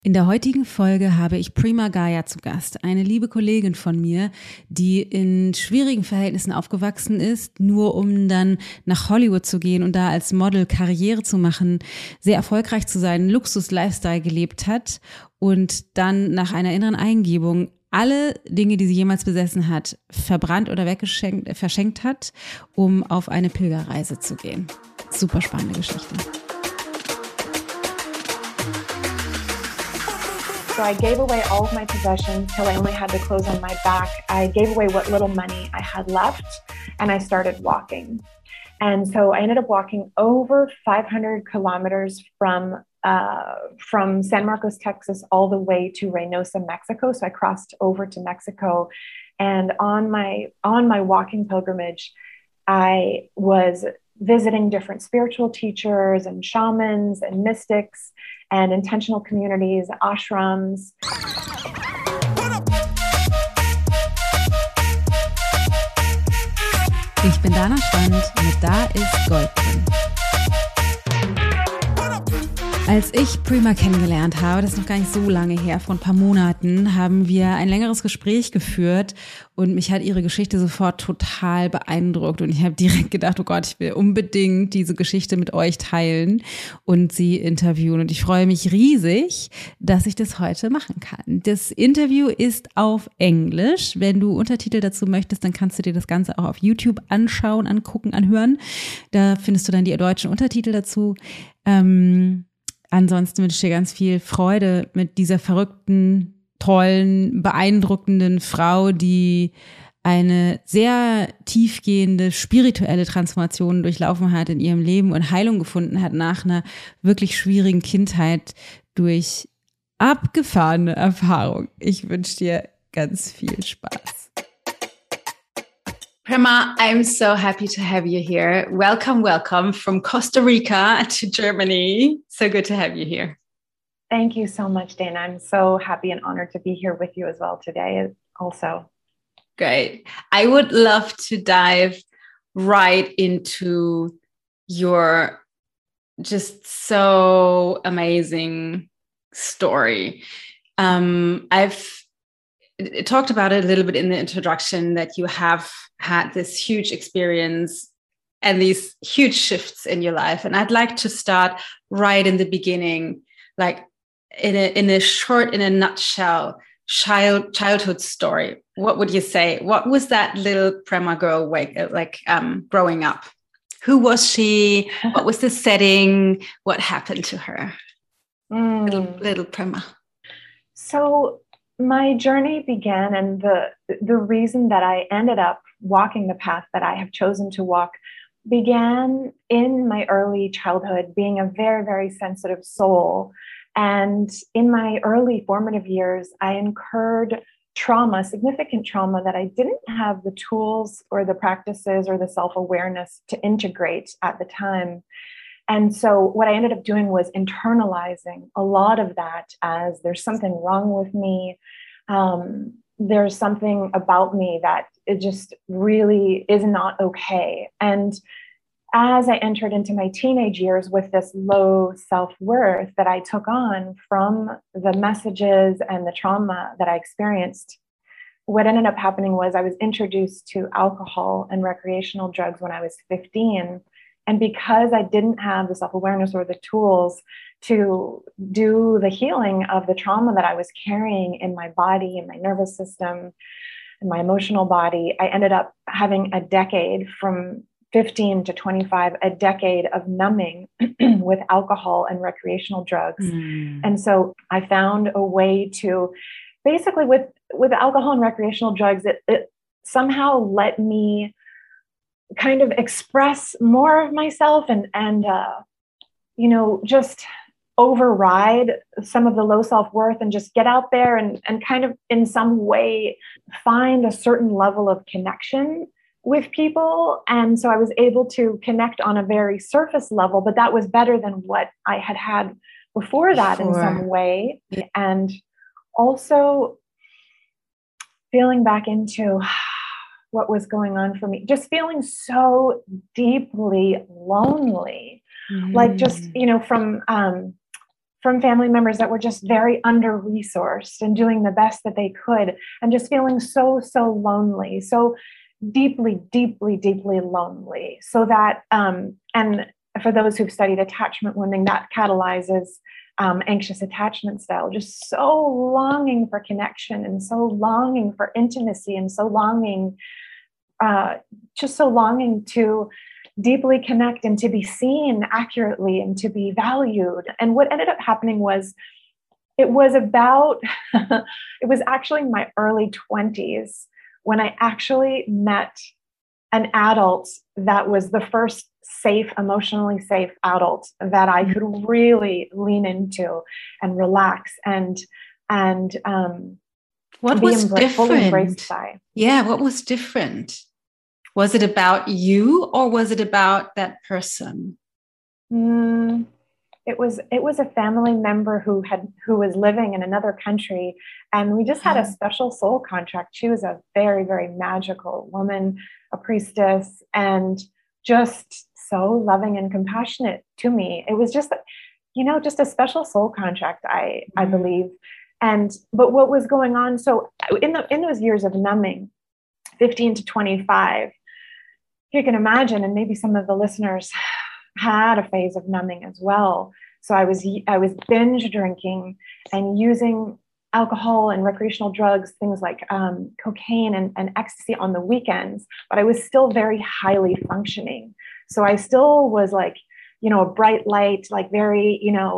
In der heutigen Folge habe ich Prima Gaia zu Gast, eine liebe Kollegin von mir, die in schwierigen Verhältnissen aufgewachsen ist, nur um dann nach Hollywood zu gehen und da als Model Karriere zu machen, sehr erfolgreich zu sein, Luxus-Lifestyle gelebt hat und dann nach einer inneren Eingebung alle Dinge, die sie jemals besessen hat, verbrannt oder verschenkt hat, um auf eine Pilgerreise zu gehen. Super spannende Geschichte. So I gave away all of my possessions till I only had the clothes on my back. I gave away what little money I had left, and I started walking. And so I ended up walking over 500 kilometers from San Marcos, Texas, all the way to Reynosa, Mexico. So I crossed over to Mexico, and on my walking pilgrimage, I was visiting different spiritual teachers and shamans and mystics and intentional communities, ashrams. Ich bin Dana Schwand mit Da ist Gold drin. Als ich Prima kennengelernt habe, das ist noch gar nicht so lange her, vor ein paar Monaten, haben wir ein längeres Gespräch geführt und mich hat ihre Geschichte sofort total beeindruckt und ich habe direkt gedacht, oh Gott, ich will unbedingt diese Geschichte mit euch teilen und sie interviewen und ich freue mich riesig, dass ich das heute machen kann. Das Interview ist auf Englisch. Wenn du Untertitel dazu möchtest, dann kannst du dir das Ganze auch auf YouTube anschauen, angucken, anhören. Da findest du dann die deutschen Untertitel dazu. Ansonsten wünsche ich dir ganz viel Freude mit dieser verrückten, tollen, beeindruckenden Frau, die eine sehr tiefgehende spirituelle Transformation durchlaufen hat in ihrem Leben und Heilung gefunden hat nach einer wirklich schwierigen Kindheit durch abgefahrene Erfahrung. Ich wünsche dir ganz viel Spaß. Prima, I'm so happy to have you here. Welcome, welcome from Costa Rica to Germany. So good to have you here. Thank you so much, Dana. I'm so happy and honored to be here with you as well today also. Great. I would love to dive right into your just so amazing story. I've talked about it a little bit in the introduction that you have had this huge experience and these huge shifts in your life. And I'd like to start right in the beginning, like in a nutshell, childhood story. What would you say? What was that little Prima girl growing up? Who was she? What was the setting? What happened to her? Little Prima. So my journey began, and the reason that I ended up walking the path that I have chosen to walk began in my early childhood, being a very, very sensitive soul. And in my early formative years, I incurred trauma, significant trauma that I didn't have the tools or the practices or the self-awareness to integrate at the time. And so what I ended up doing was internalizing a lot of that as there's something wrong with me. There's something about me that it just really is not okay. And as I entered into my teenage years with this low self-worth that I took on from the messages and the trauma that I experienced, what ended up happening was I was introduced to alcohol and recreational drugs when I was 15. And because I didn't have the self-awareness or the tools to do the healing of the trauma that I was carrying in my body, in my nervous system, in my emotional body, I ended up having a decade from 15 to 25, a decade of numbing with alcohol and recreational drugs. And so I found a way to basically with alcohol and recreational drugs, it somehow let me kind of express more of myself and just override some of the low self-worth and just get out there and kind of in some way find a certain level of connection with people. And so I was able to connect on a very surface level, but that was better than what I had before that in some way. And also feeling back into what was going on for me, just feeling so deeply lonely, like just, from family members that were just very under-resourced and doing the best that they could, and just feeling so, so lonely, so deeply, deeply, deeply lonely. So that, and for those who've studied attachment wounding, that catalyzes anxious attachment style, just so longing for connection and so longing for intimacy and so longing, just so longing to deeply connect and to be seen accurately and to be valued. And what ended up happening was, it was about, it was actually my early 20s when I actually met an adult that was the first safe, emotionally safe adult that I could really lean into and relax and what was fully embraced by. Yeah, what was different? Was it about you, or was it about that person? It was a family member who was living in another country, and we just had a special soul contract. She was a very, very magical woman, a priestess, and just so loving and compassionate to me. It was just, just a special soul contract, I believe. But what was going on? So in those years of numbing, 15 to 25, you can imagine, and maybe some of the listeners had a phase of numbing as well. So I was binge drinking and using alcohol and recreational drugs, things like cocaine and ecstasy on the weekends, but I was still very highly functioning. So I still was like, a bright light, like very,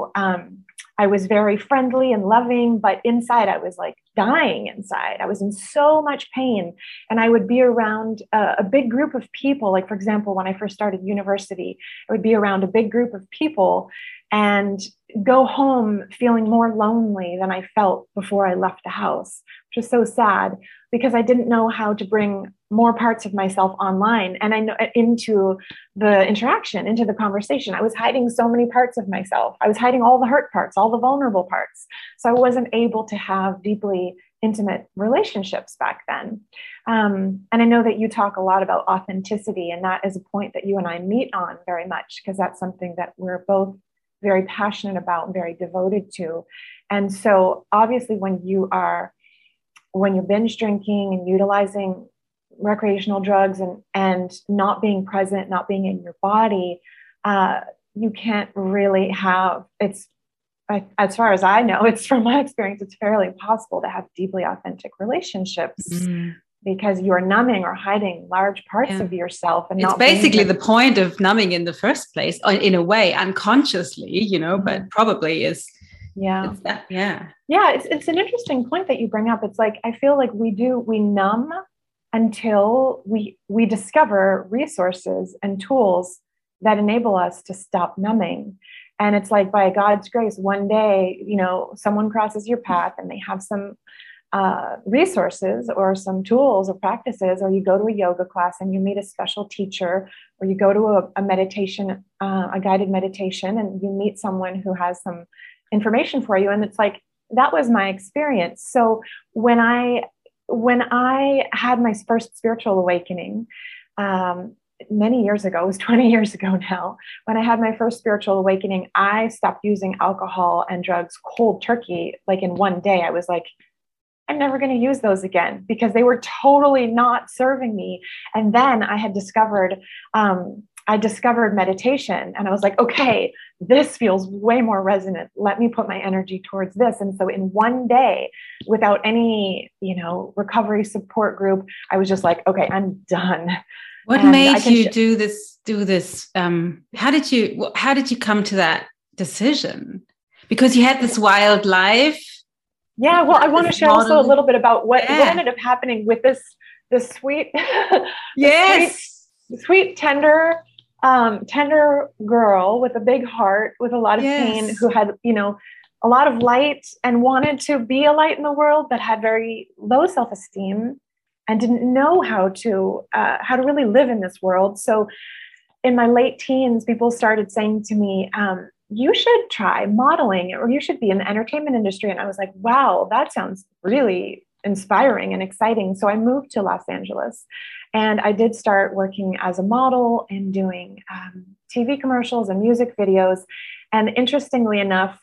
I was very friendly and loving, but inside I was like dying inside. I was in so much pain, and I would be around a big group of people. Like, for example, when I first started university, I would be around a big group of people and go home feeling more lonely than I felt before I left the house, which is so sad because I didn't know how to bring more parts of myself online and I know into the interaction, into the conversation. I was hiding so many parts of myself. I was hiding all the hurt parts, all the vulnerable parts. So I wasn't able to have deeply intimate relationships back then. And I know that you talk a lot about authenticity, and that is a point that you and I meet on very much, because that's something that we're both very passionate about and very devoted to. And so obviously when you're binge drinking and utilizing recreational drugs and not being present, not being in your body, you can't really have, as far as I know, it's from my experience, it's fairly impossible to have deeply authentic relationships because you are numbing or hiding large parts of yourself. And it's basically the point of numbing in the first place, in a way, unconsciously, but probably is. Yeah. It's an interesting point that you bring up. It's like, I feel like we numb until we discover resources and tools that enable us to stop numbing. And it's like, by God's grace, one day, someone crosses your path and they have some resources or some tools or practices, or you go to a yoga class and you meet a special teacher, or you go to a meditation, a guided meditation, and you meet someone who has some information for you. And it's like, that was my experience. So when I had my first spiritual awakening, many years ago, it was 20 years ago now, when I had my first spiritual awakening, I stopped using alcohol and drugs cold turkey. Like in one day, I was like, I'm never going to use those again because they were totally not serving me. And then I had discovered, meditation, and I was like, okay, this feels way more resonant. Let me put my energy towards this. And so in one day, without any, recovery support group, I was just like, okay, I'm done. What made you do this? How did you come to that decision? Because you had this wild life. Yeah, well, I want to share also a little bit about what ended up happening with this sweet, sweet, tender girl with a big heart, with a lot of pain, who had, a lot of light and wanted to be a light in the world, but had very low self-esteem and didn't know how to really live in this world. So in my late teens, people started saying to me, you should try modeling, or you should be in the entertainment industry. And I was like, wow, that sounds really inspiring and exciting. So I moved to Los Angeles, and I did start working as a model and doing TV commercials and music videos. And interestingly enough,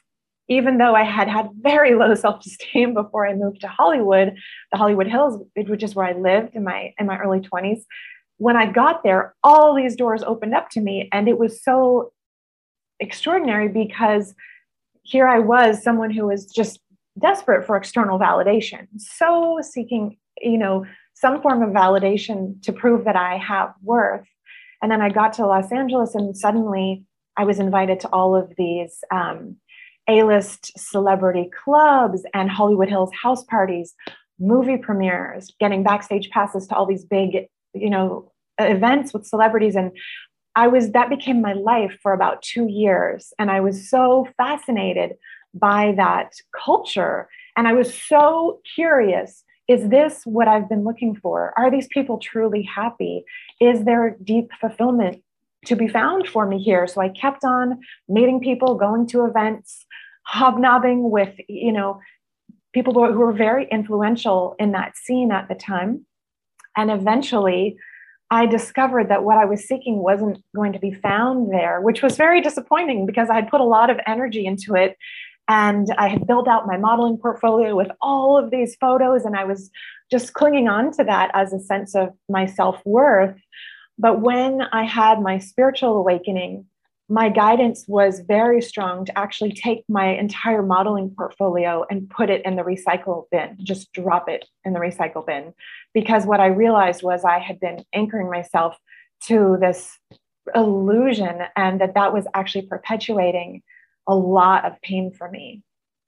even though I had had very low self-esteem before I moved to Hollywood, the Hollywood Hills, which is where I lived in my early 20s, when I got there, all these doors opened up to me. And it was so extraordinary because here I was, someone who was just desperate for external validation, so seeking, some form of validation to prove that I have worth. And then I got to Los Angeles, and suddenly I was invited to all of these A-list celebrity clubs and Hollywood Hills house parties, movie premieres, getting backstage passes to all these big, events with celebrities. And that became my life for about 2 years. And I was so fascinated by that culture. And I was so curious, is this what I've been looking for? Are these people truly happy? Is there deep fulfillment to be found for me here? So I kept on meeting people, going to events, hobnobbing with, people who were very influential in that scene at the time. And eventually I discovered that what I was seeking wasn't going to be found there, which was very disappointing because I had put a lot of energy into it. And I had built out my modeling portfolio with all of these photos, and I was just clinging on to that as a sense of my self-worth. But when I had my spiritual awakening, my guidance was very strong to actually take my entire modeling portfolio and put it in the recycle bin, just drop it in the recycle bin. Because what I realized was I had been anchoring myself to this illusion, and that was actually perpetuating a lot of pain for me.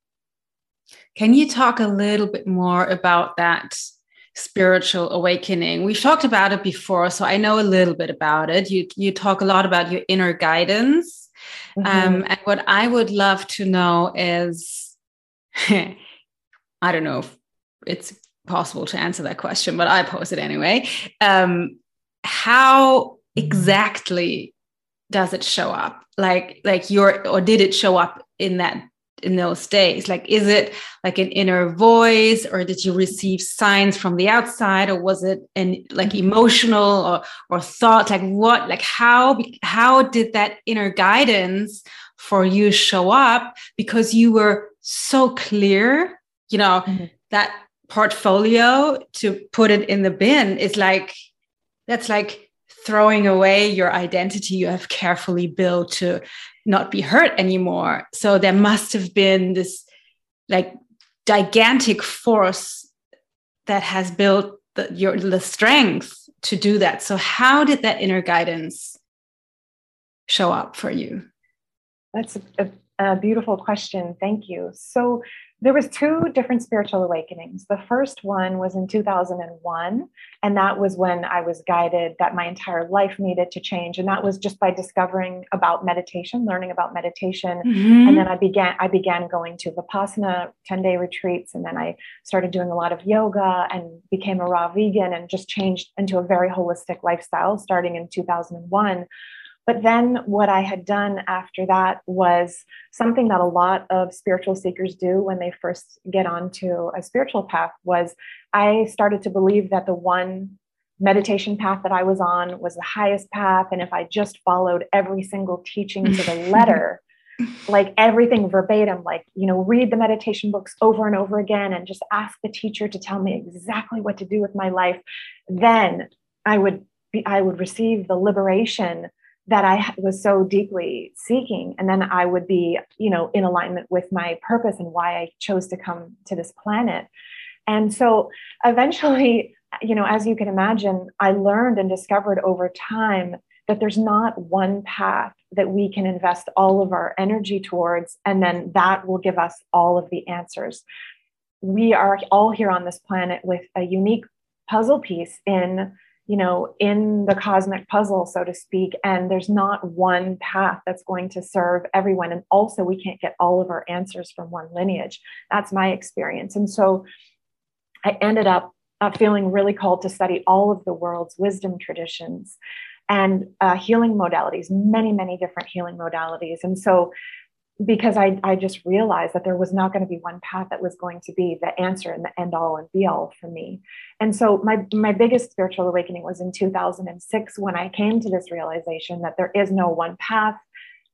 Can you talk a little bit more about that spiritual awakening? We've talked about it before, so I know a little bit about it. You talk a lot about your inner guidance. Mm-hmm. And what I would love to know is, I don't know if it's possible to answer that question, but I pose it anyway. How exactly does it show up? Or did it show up in those days? Like, is it like an inner voice, or did you receive signs from the outside, or was it emotional or thought? How did that inner guidance for you show up? Because you were so clear, mm-hmm. that portfolio, to put it in the bin is that's like throwing away your identity you have carefully built to not be hurt anymore. So there must have been this gigantic force that has built the strength to do that. So how did that inner guidance show up for you? That's a beautiful question. Thank you. So there was 2 different spiritual awakenings. The first one was in 2001. And that was when I was guided that my entire life needed to change. And that was just by discovering about meditation, learning about meditation. Mm-hmm. And then I began going to Vipassana 10-day retreats. And then I started doing a lot of yoga and became a raw vegan and just changed into a very holistic lifestyle starting in 2001. But then what I had done after that was something that a lot of spiritual seekers do when they first get onto a spiritual path. Was I started to believe that the one meditation path that I was on was the highest path. And if I just followed every single teaching to the letter, like everything verbatim, read the meditation books over and over again and just ask the teacher to tell me exactly what to do with my life, then I would receive the liberation that I was so deeply seeking. And then I would be, in alignment with my purpose and why I chose to come to this planet. And so eventually, as you can imagine, I learned and discovered over time that there's not one path that we can invest all of our energy towards, and then that will give us all of the answers. We are all here on this planet with a unique puzzle piece in the cosmic puzzle, so to speak. And there's not one path that's going to serve everyone. And also we can't get all of our answers from one lineage. That's my experience. And so I ended up feeling really called to study all of the world's wisdom traditions and healing modalities, many, many different healing modalities. And so because I just realized that there was not going to be one path that was going to be the answer and the end all and be all for me. And so my biggest spiritual awakening was in 2006 when I came to this realization that there is no one path,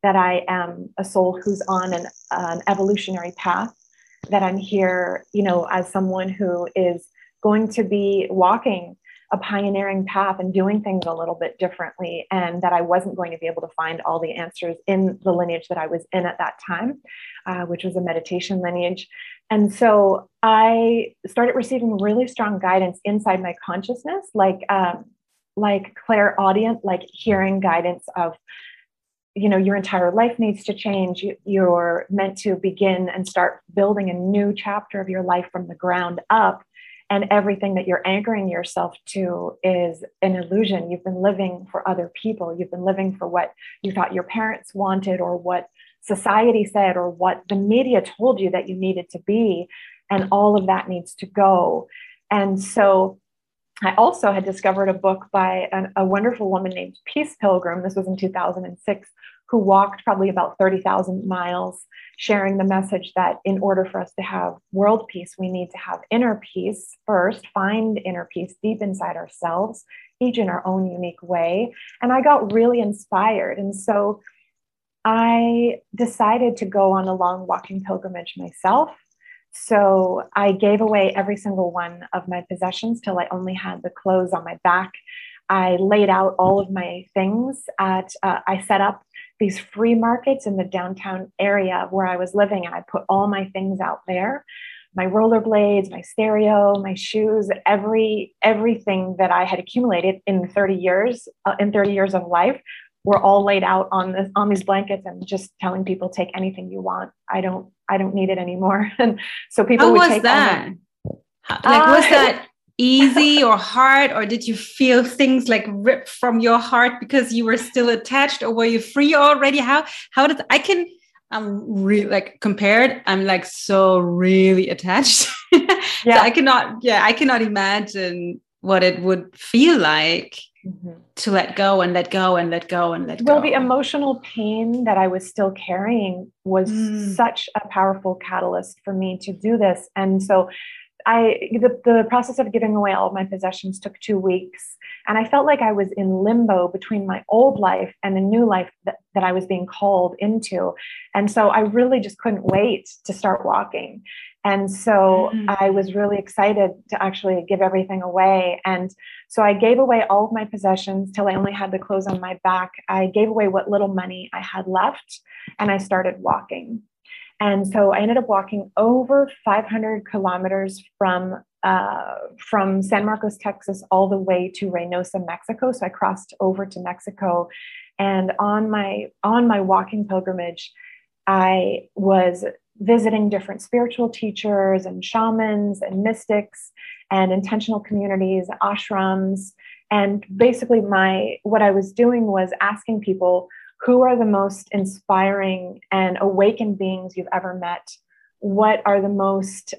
that I am a soul who's on an evolutionary path, that I'm here, as someone who is going to be walking a pioneering path and doing things a little bit differently, and that I wasn't going to be able to find all the answers in the lineage that I was in at that time, which was a meditation lineage. And so I started receiving really strong guidance inside my consciousness, like clairaudient, like hearing guidance of, your entire life needs to change. You're meant to begin and start building a new chapter of your life from the ground up. And everything that you're anchoring yourself to is an illusion. You've been living for other people. You've been living for what you thought your parents wanted, or what society said, or what the media told you that you needed to be. And all of that needs to go. And so I also had discovered a book by a wonderful woman named Peace Pilgrim. This was in 2006, who walked probably about 30,000 miles, sharing the message that in order for us to have world peace, we need to have inner peace first, find inner peace deep inside ourselves, each in our own unique way. And I got really inspired. And so I decided to go on a long walking pilgrimage myself. So I gave away every single one of my possessions till I only had the clothes on my back. I laid out all of my things I set up these free markets in the downtown area where I was living, and I put all my things out there, my rollerblades, my stereo, my shoes, everything that I had accumulated in 30 years of life were all laid out on these blankets, and just telling people, take anything you want. I don't need it anymore. And so people would take that? Was that easy or hard, or did you feel things like rip from your heart because you were still attached, or were you free already? I'm really compared. I'm so really attached. Yeah. So I cannot imagine what it would feel like to let go and let go and let go and let go. Well, the emotional pain that I was still carrying was such a powerful catalyst for me to do this. And so the process of giving away all of my possessions took 2 weeks. And I felt like I was in limbo between my old life and the new life that I was being called into. And so I really just couldn't wait to start walking. And so I was really excited to actually give everything away. And so I gave away all of my possessions till I only had the clothes on my back. I gave away what little money I had left, and I started walking. And so I ended up walking over 500 kilometers from San Marcos, Texas, all the way to Reynosa, Mexico. So I crossed over to Mexico, and on my walking pilgrimage, I was visiting different spiritual teachers and shamans and mystics and intentional communities, ashrams. And basically what I was doing was asking people, who are the most inspiring and awakened beings you've ever met? What are the most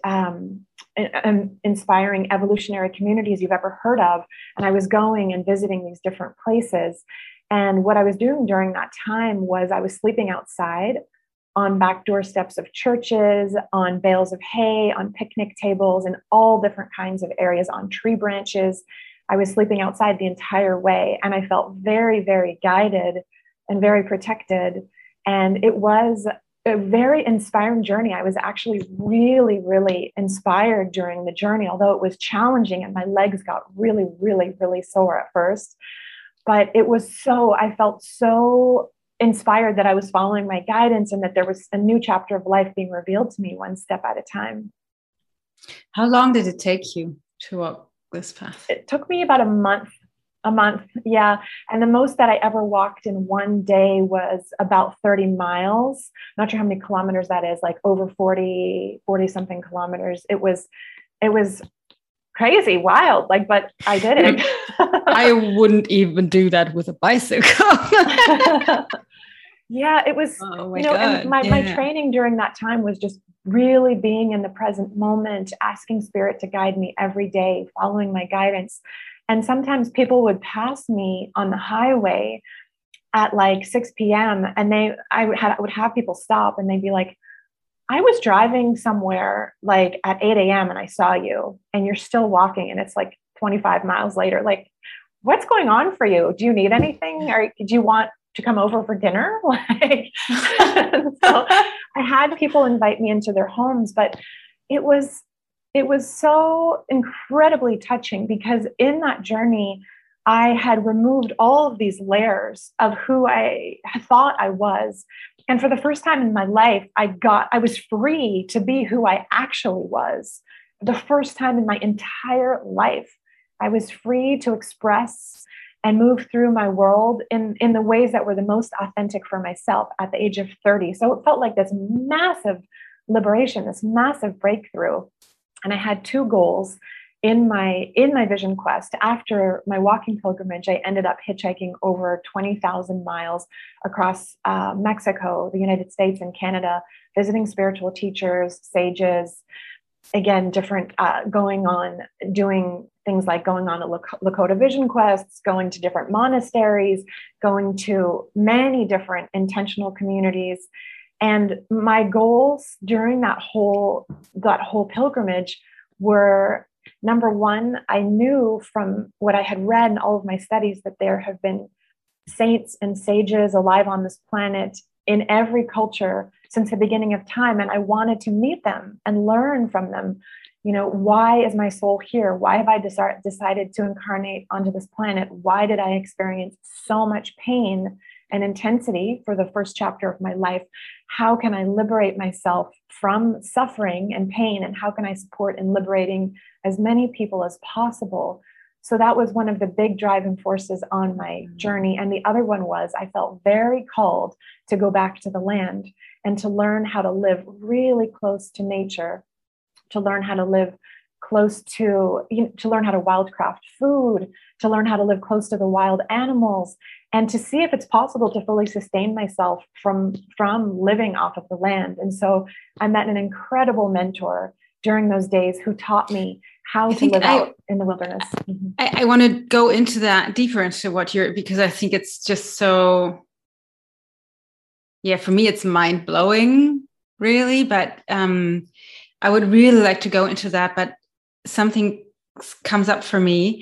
inspiring evolutionary communities you've ever heard of? And I was going and visiting these different places. And what I was doing during that time was I was sleeping outside on back doorsteps of churches, on bales of hay, on picnic tables, and all different kinds of areas, on tree branches. I was sleeping outside the entire way. And I felt very, very guided and very protected. And it was a very inspiring journey. I was actually really, really inspired during the journey, although it was challenging and my legs got really, really, really sore at first. But I felt so inspired that I was following my guidance and that there was a new chapter of life being revealed to me one step at a time. How long did it take you to walk this path? It took me about a month. Yeah. And the most that I ever walked in one day was about 30 miles. Not sure how many kilometers that is, like over 40 something kilometers. It was crazy, wild, but I did it. I wouldn't even do that with a bicycle. Yeah, it was, and my training during that time was just really being in the present moment, asking spirit to guide me every day, following my guidance. And sometimes people would pass me on the highway at 6 p.m. and I would have people stop and they'd be like, I was driving somewhere at 8 a.m. and I saw you and you're still walking and it's 25 miles later. What's going on for you? Do you need anything? Or do you want to come over for dinner. Like, so I had people invite me into their homes, but it was so incredibly touching because in that journey, I had removed all of these layers of who I thought I was. And for the first time in my life, I was free to be who I actually was. The first time in my entire life, I was free to express and move through my world in the ways that were the most authentic for myself at the age of 30. So it felt like this massive liberation, this massive breakthrough. And I had two goals in my vision quest. After my walking pilgrimage, I ended up hitchhiking over 20,000 miles across Mexico, the United States, and Canada, visiting spiritual teachers, sages, again, different, doing things like going on Lakota vision quests, going to different monasteries, going to many different intentional communities. And my goals during that whole pilgrimage were, number one, I knew from what I had read in all of my studies that there have been saints and sages alive on this planet in every culture since the beginning of time. And I wanted to meet them and learn from them. You know, why is my soul here? Why have I decided to incarnate onto this planet? Why did I experience so much pain and intensity for the first chapter of my life? How can I liberate myself from suffering and pain? And how can I support in liberating as many people as possible? So that was one of the big driving forces on my journey. And the other one was I felt very called to go back to the land and to learn how to live really close to nature, to learn how to live close to, to learn how to wildcraft food, to learn how to live close to the wild animals, and to see if it's possible to fully sustain myself from living off of the land. And so I met an incredible mentor during those days who taught me how to live out in the wilderness. I want to go into that deeper into what because I think it's just so, for me, it's mind blowing, really. But I would really like to go into that. But something comes up for me.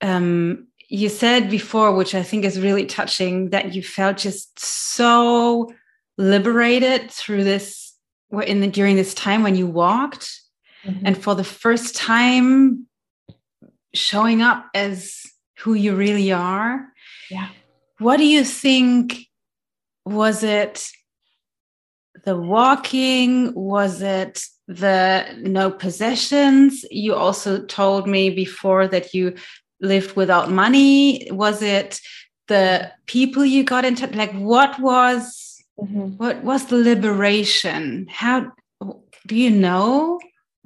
You said before, which I think is really touching, that you felt just so liberated through this, during this time when you walked, and for the first time showing up as who you really are. Yeah. What do you think? Was it the walking? Was it the no possessions? You also told me before that you lived without money. Was it the people you got in touch? Like, what was the liberation? How do you know?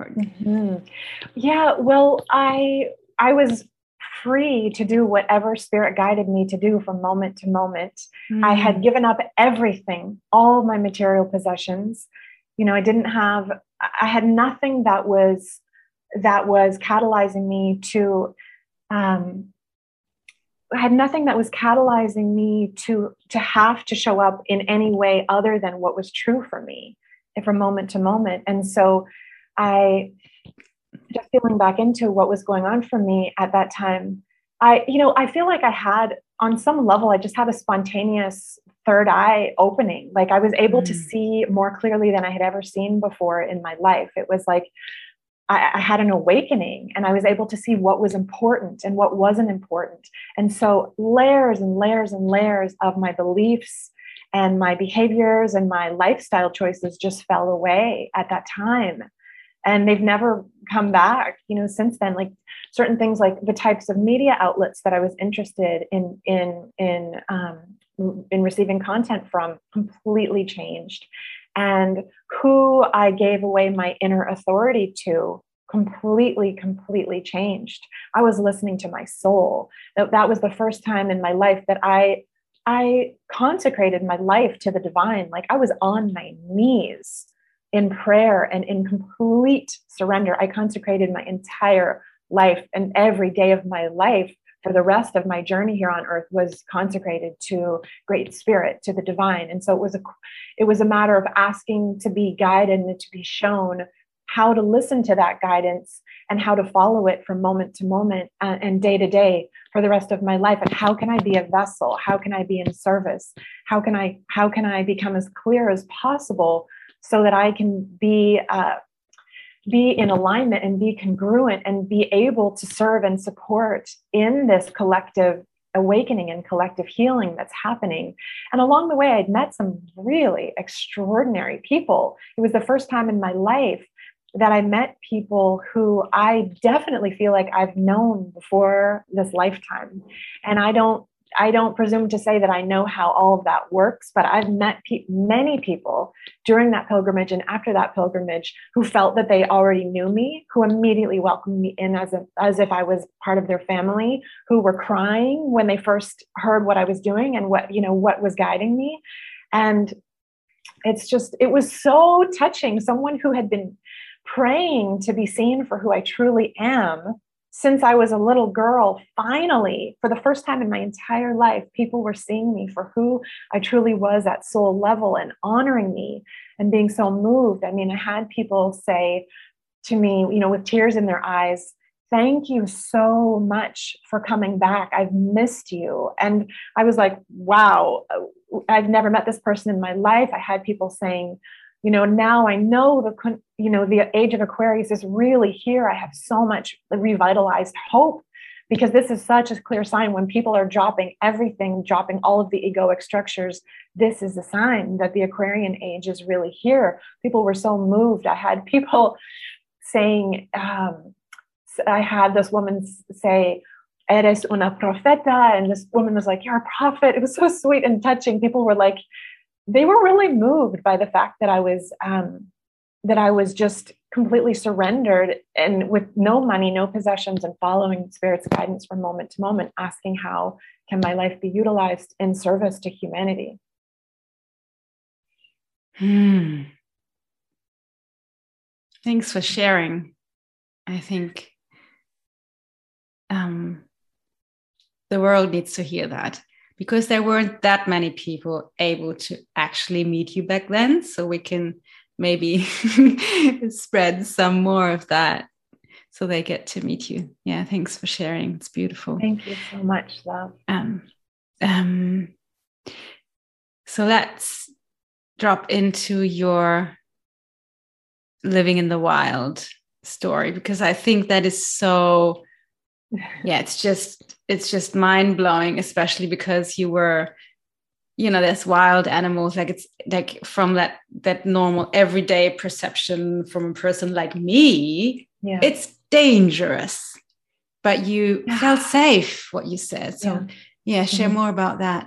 Yeah, well, I was free to do whatever spirit guided me to do from moment to moment. I had given up everything, all my material possessions. You know, I had nothing that was catalyzing me to have to show up in any way other than what was true for me from moment to moment. And so I, just feeling back into what was going on for me at that time, I feel like I had, on some level, I just had a spontaneous third eye opening. Like I was able to see more clearly than I had ever seen before in my life. It was like I had an awakening, and I was able to see what was important and what wasn't important. And so layers and layers and layers of my beliefs and my behaviors and my lifestyle choices just fell away at that time. And they've never come back, since then. Like certain things, like the types of media outlets that I was interested in receiving content from, completely changed. And who I gave away my inner authority to completely changed. I was listening to my soul. That was the first time in my life that I consecrated my life to the divine. Like I was on my knees in prayer and in complete surrender. I consecrated my entire life, and every day of my life for the rest of my journey here on earth was consecrated to Great Spirit, to the divine. And so it was a matter of asking to be guided and to be shown how to listen to that guidance and how to follow it from moment to moment and day to day for the rest of my life. And how can I be a vessel? How can I be in service? How can I become as clear as possible so that I can be in alignment and be congruent and be able to serve and support in this collective awakening and collective healing that's happening. And along the way, I'd met some really extraordinary people. It was the first time in my life that I met people who I definitely feel like I've known before this lifetime. And I don't presume to say that I know how all of that works, but I've met many people during that pilgrimage and after that pilgrimage who felt that they already knew me, who immediately welcomed me in as if I was part of their family, who were crying when they first heard what I was doing and what was guiding me. And it was so touching. Someone who had been praying to be seen for who I truly am since I was a little girl, finally, for the first time in my entire life, people were seeing me for who I truly was at soul level and honoring me and being so moved. I mean, I had people say to me, with tears in their eyes, "Thank you so much for coming back. I've missed you." And I was like, wow, I've never met this person in my life. I had people saying, now I know the age of Aquarius is really here. I have so much revitalized hope, because this is such a clear sign when people are dropping everything, dropping all of the egoic structures. This is a sign that the Aquarian age is really here. People were so moved. I had people saying, I had this woman say, "Eres una profeta," and this woman was like, "You're a prophet." It was so sweet and touching. People were like, they were really moved by the fact that I was just completely surrendered and with no money, no possessions, and following Spirit's guidance from moment to moment, asking how can my life be utilized in service to humanity. Thanks for sharing. I think the world needs to hear that, because there weren't that many people able to actually meet you back then. So we can maybe spread some more of that so they get to meet you. Yeah, thanks for sharing. It's beautiful. Thank you so much, love. So let's drop into your living in the wild story, because I think that is so, it's just mind-blowing, especially because you were, there's wild animals, like it's like from that normal everyday perception from a person like me, it's dangerous, but you felt safe, what you said. So share more about that.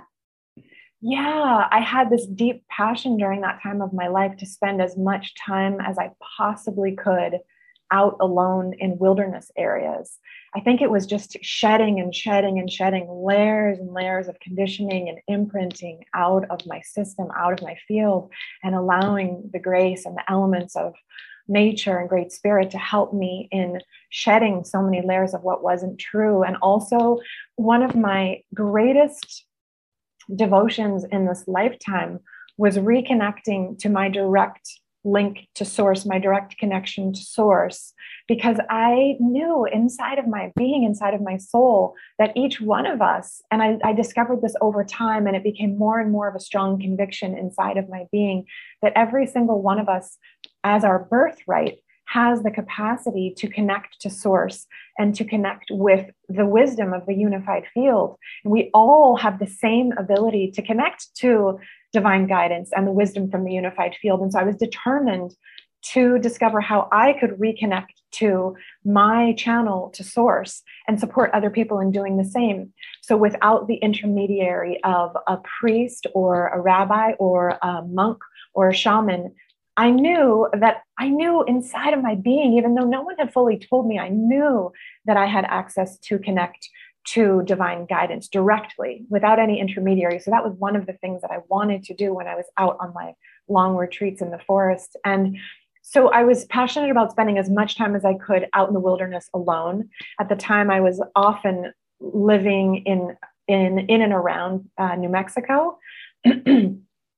Yeah, I had this deep passion during that time of my life to spend as much time as I possibly could out alone in wilderness areas. I think it was just shedding and shedding and shedding layers and layers of conditioning and imprinting out of my system, out of my field, and allowing the grace and the elements of nature and Great Spirit to help me in shedding so many layers of what wasn't true. And also, one of my greatest devotions in this lifetime was reconnecting to my direct link to source, my direct connection to source, because I knew inside of my being, inside of my soul, that each one of us, and I discovered this over time, and it became more and more of a strong conviction inside of my being, that every single one of us, as our birthright, has the capacity to connect to source and to connect with the wisdom of the unified field. And we all have the same ability to connect to divine guidance and the wisdom from the unified field. And so I was determined to discover how I could reconnect to my channel to source and support other people in doing the same. So without the intermediary of a priest or a rabbi or a monk or a shaman, I knew inside of my being, even though no one had fully told me, I knew that I had access to connect to divine guidance directly without any intermediary. So that was one of the things that I wanted to do when I was out on my long retreats in the forest. And so I was passionate about spending as much time as I could out in the wilderness alone. At the time, I was often living in and around New Mexico.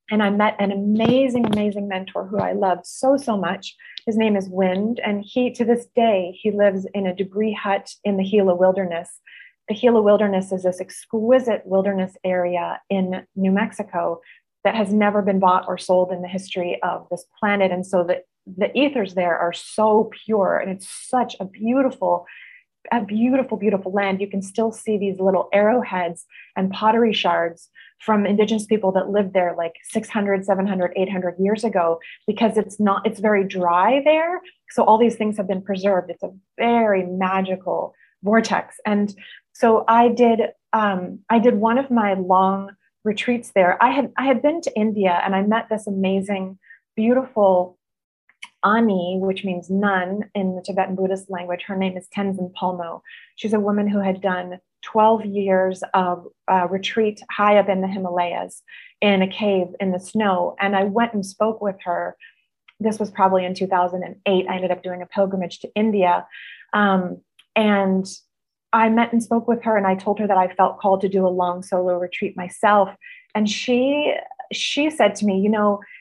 And I met an amazing, amazing mentor who I loved so, so much. His name is Wind. And he, to this day, he lives in a debris hut in the Gila Wilderness. The Gila Wilderness is this exquisite wilderness area in New Mexico that has never been bought or sold in the history of this planet. And so the ethers there are so pure, and it's such a beautiful, beautiful land. You can still see these little arrowheads and pottery shards from indigenous people that lived there like 600, 700, 800 years ago, because it's very dry there. So all these things have been preserved. It's a very magical vortex. And so I did one of my long retreats there. I had been to India, and I met this amazing, beautiful Ani, which means nun in the Tibetan Buddhist language. Her name is Tenzin Palmo. She's a woman who had done 12 years of retreat high up in the Himalayas in a cave in the snow. And I went and spoke with her. This was probably in 2008. I ended up doing a pilgrimage to India. And I met and spoke with her, and I told her that I felt called to do a long solo retreat myself. And she said to me,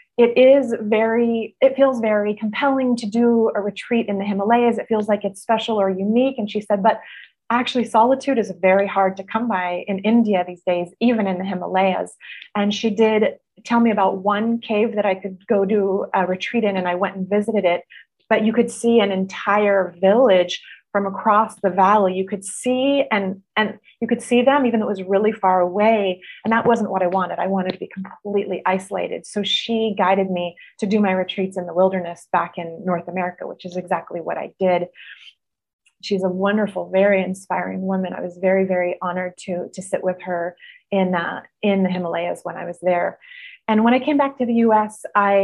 it feels very compelling to do a retreat in the Himalayas. It feels like it's special or unique. And she said, but actually solitude is very hard to come by in India these days, even in the Himalayas. And she did tell me about one cave that I could go do a retreat in, and I went and visited it. But you could see an entire village from across the valley. You could see and you could see them even though it was really far away. And that wasn't what I wanted. I wanted to be completely isolated. So she guided me to do my retreats in the wilderness back in North America, which is exactly what I did. She's a wonderful, very inspiring woman. I was very, very honored to sit with her in the Himalayas when I was there. And when I came back to the US,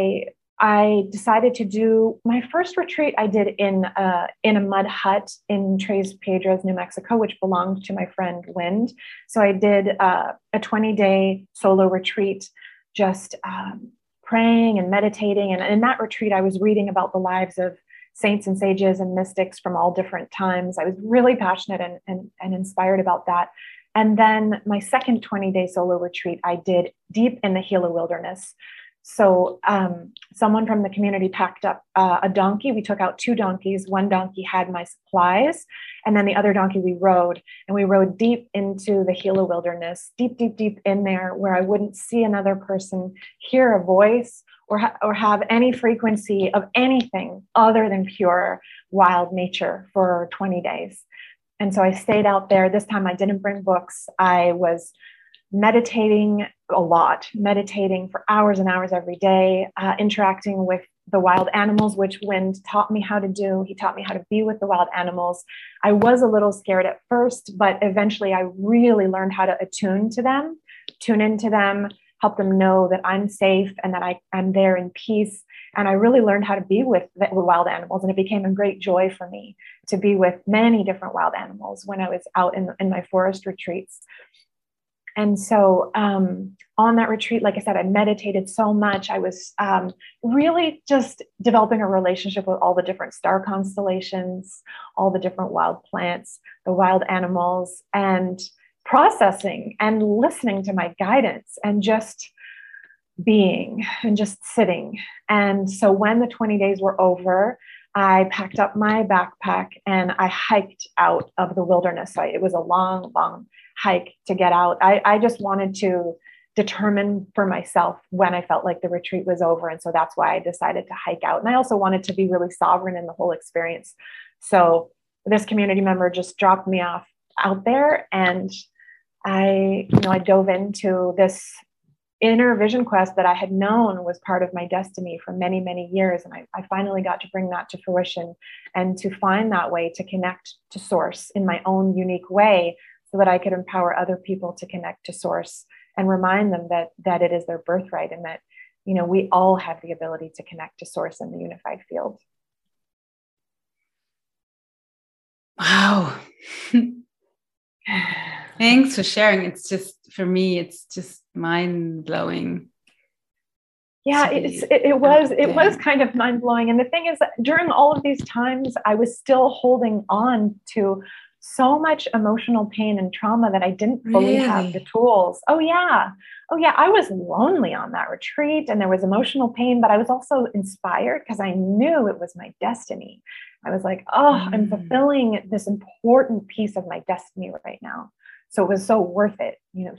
I decided to do my first retreat. I did in a mud hut in Tres Piedras, New Mexico, which belonged to my friend Wind. So I did a 20-day solo retreat, just praying and meditating. And in that retreat, I was reading about the lives of saints and sages and mystics from all different times. I was really passionate and inspired about that. And then my second 20-day solo retreat, I did deep in the Gila Wilderness. So someone from the community packed up a donkey. We took out 2 donkeys. One donkey had my supplies, and then the other donkey we rode. And we rode deep into the Gila Wilderness, deep, deep, deep in there, where I wouldn't see another person, hear a voice, or have any frequency of anything other than pure wild nature for 20 days. And so I stayed out there. This time I didn't bring books. I was meditating a lot, meditating for hours and hours every day, interacting with the wild animals, which Wind taught me how to do. He taught me how to be with the wild animals. I was a little scared at first, but eventually I really learned how to attune to them, tune into them, help them know that I'm safe and that I'm there in peace. And I really learned how to be with the wild animals. And it became a great joy for me to be with many different wild animals when I was out in my forest retreats. And so on that retreat, like I said, I meditated so much. I was really just developing a relationship with all the different star constellations, all the different wild plants, the wild animals, and processing and listening to my guidance and just being and just sitting. And so when the 20 days were over, I packed up my backpack and I hiked out of the wilderness. It was a long, long hike to get out. I just wanted to determine for myself when I felt like the retreat was over. And so that's why I decided to hike out. And I also wanted to be really sovereign in the whole experience. So this community member just dropped me off out there, and I dove into this inner vision quest that I had known was part of my destiny for many, many years. And I finally got to bring that to fruition and to find that way to connect to source in my own unique way, so that I could empower other people to connect to source and remind them that it is their birthright, and that, we all have the ability to connect to source in the unified field. Wow. Thanks for sharing. It's just, for me, it's just mind blowing. Yeah, it was kind of mind blowing. And the thing is that during all of these times, I was still holding on to so much emotional pain and trauma that I didn't fully have the Really? tools. Oh, yeah. Oh, yeah. I was lonely on that retreat and there was emotional pain, but I was also inspired because I knew it was my destiny. I was like, oh, I'm Mm. fulfilling this important piece of my destiny right now. So it was so worth it,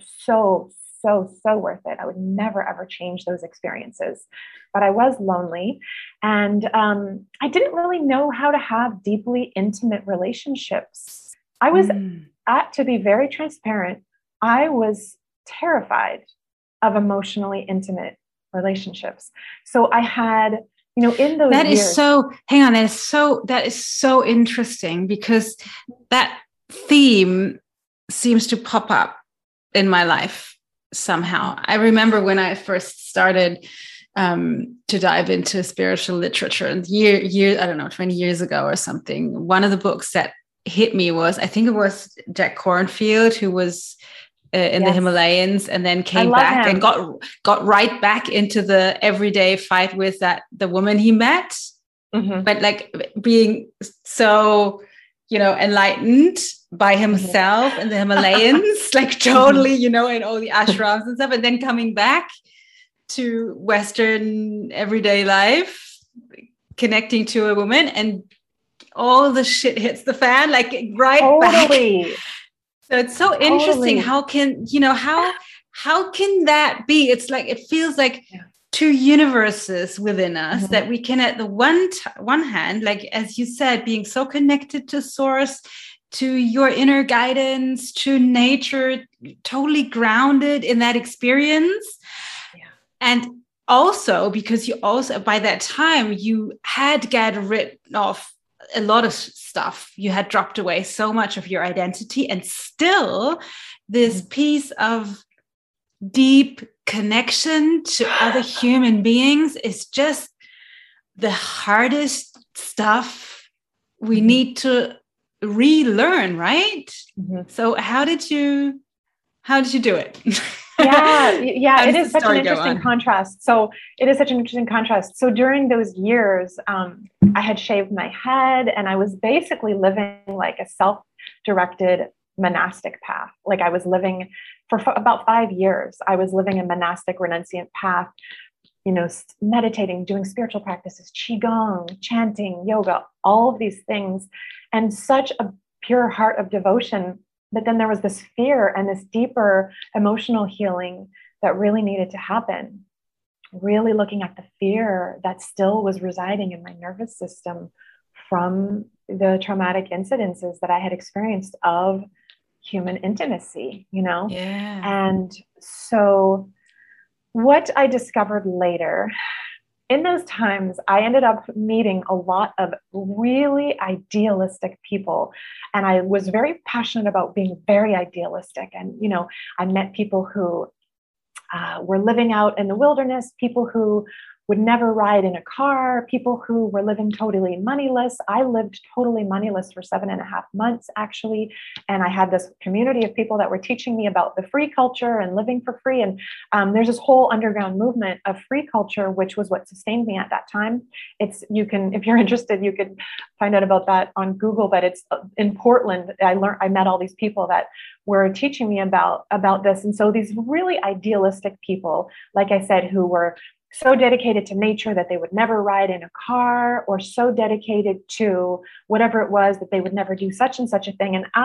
so worth it. I would never, ever change those experiences. But I was lonely and I didn't really know how to have deeply intimate relationships. I was, Mm. to be very transparent, I was terrified of emotionally intimate relationships. So I had, in those That is years, so, hang on, that is so interesting because that theme seems to pop up in my life somehow. I remember when I first started to dive into spiritual literature and I don't know, 20 years ago or something. One of the books that hit me was, I think it was Jack Kornfield, who was in the yes, Himalayas and then I came love back and him. got right back into the everyday fight with the woman he met, Mm-hmm, but like being so, enlightened by mm-hmm, himself in the Himalayas, like mm-hmm. totally, in all the ashrams and stuff, and then coming back to Western everyday life, connecting to a woman, and all the shit hits the fan, like right back. Totally, So it's so interesting. totally. How can that be? It's like, it feels like Yeah. two universes within us Mm-hmm, that we can, at the one hand, like as you said, being so connected to source, to your inner guidance, to nature, totally grounded in that experience. yeah. And also because you also, by that time, you had got rid of a lot of stuff. You had dropped away so much of your identity, and still this Mm-hmm. piece of deep connection to other human beings is just the hardest stuff we Mm-hmm. need to relearn, right? Mm-hmm. So how did you do it? Yeah, yeah, How it does the is such an story go interesting on? contrast. So it is such an interesting contrast. So during those years, I had shaved my head and I was basically living like a self-directed monastic path. Like I was living for about 5 years. I was living a monastic renunciant path, meditating, doing spiritual practices, qigong, chanting, yoga, all of these things, and such a pure heart of devotion. But then there was this fear and this deeper emotional healing that really needed to happen. Really looking at the fear that still was residing in my nervous system from the traumatic incidences that I had experienced of human intimacy. Yeah. And so, what I discovered later in those times, I ended up meeting a lot of really idealistic people. And I was very passionate about being very idealistic. And, I met people who were living out in the wilderness, people who would never ride in a car, people who were living totally moneyless. I lived totally moneyless for 7.5 months, actually. And I had this community of people that were teaching me about the free culture and living for free. And there's this whole underground movement of free culture, which was what sustained me at that time. If you're interested, you could find out about that on Google, but it's in Portland. I met all these people that were teaching me about this. And so these really idealistic people, like I said, who were so dedicated to nature that they would never ride in a car, or so dedicated to whatever it was that they would never do such and such a thing. And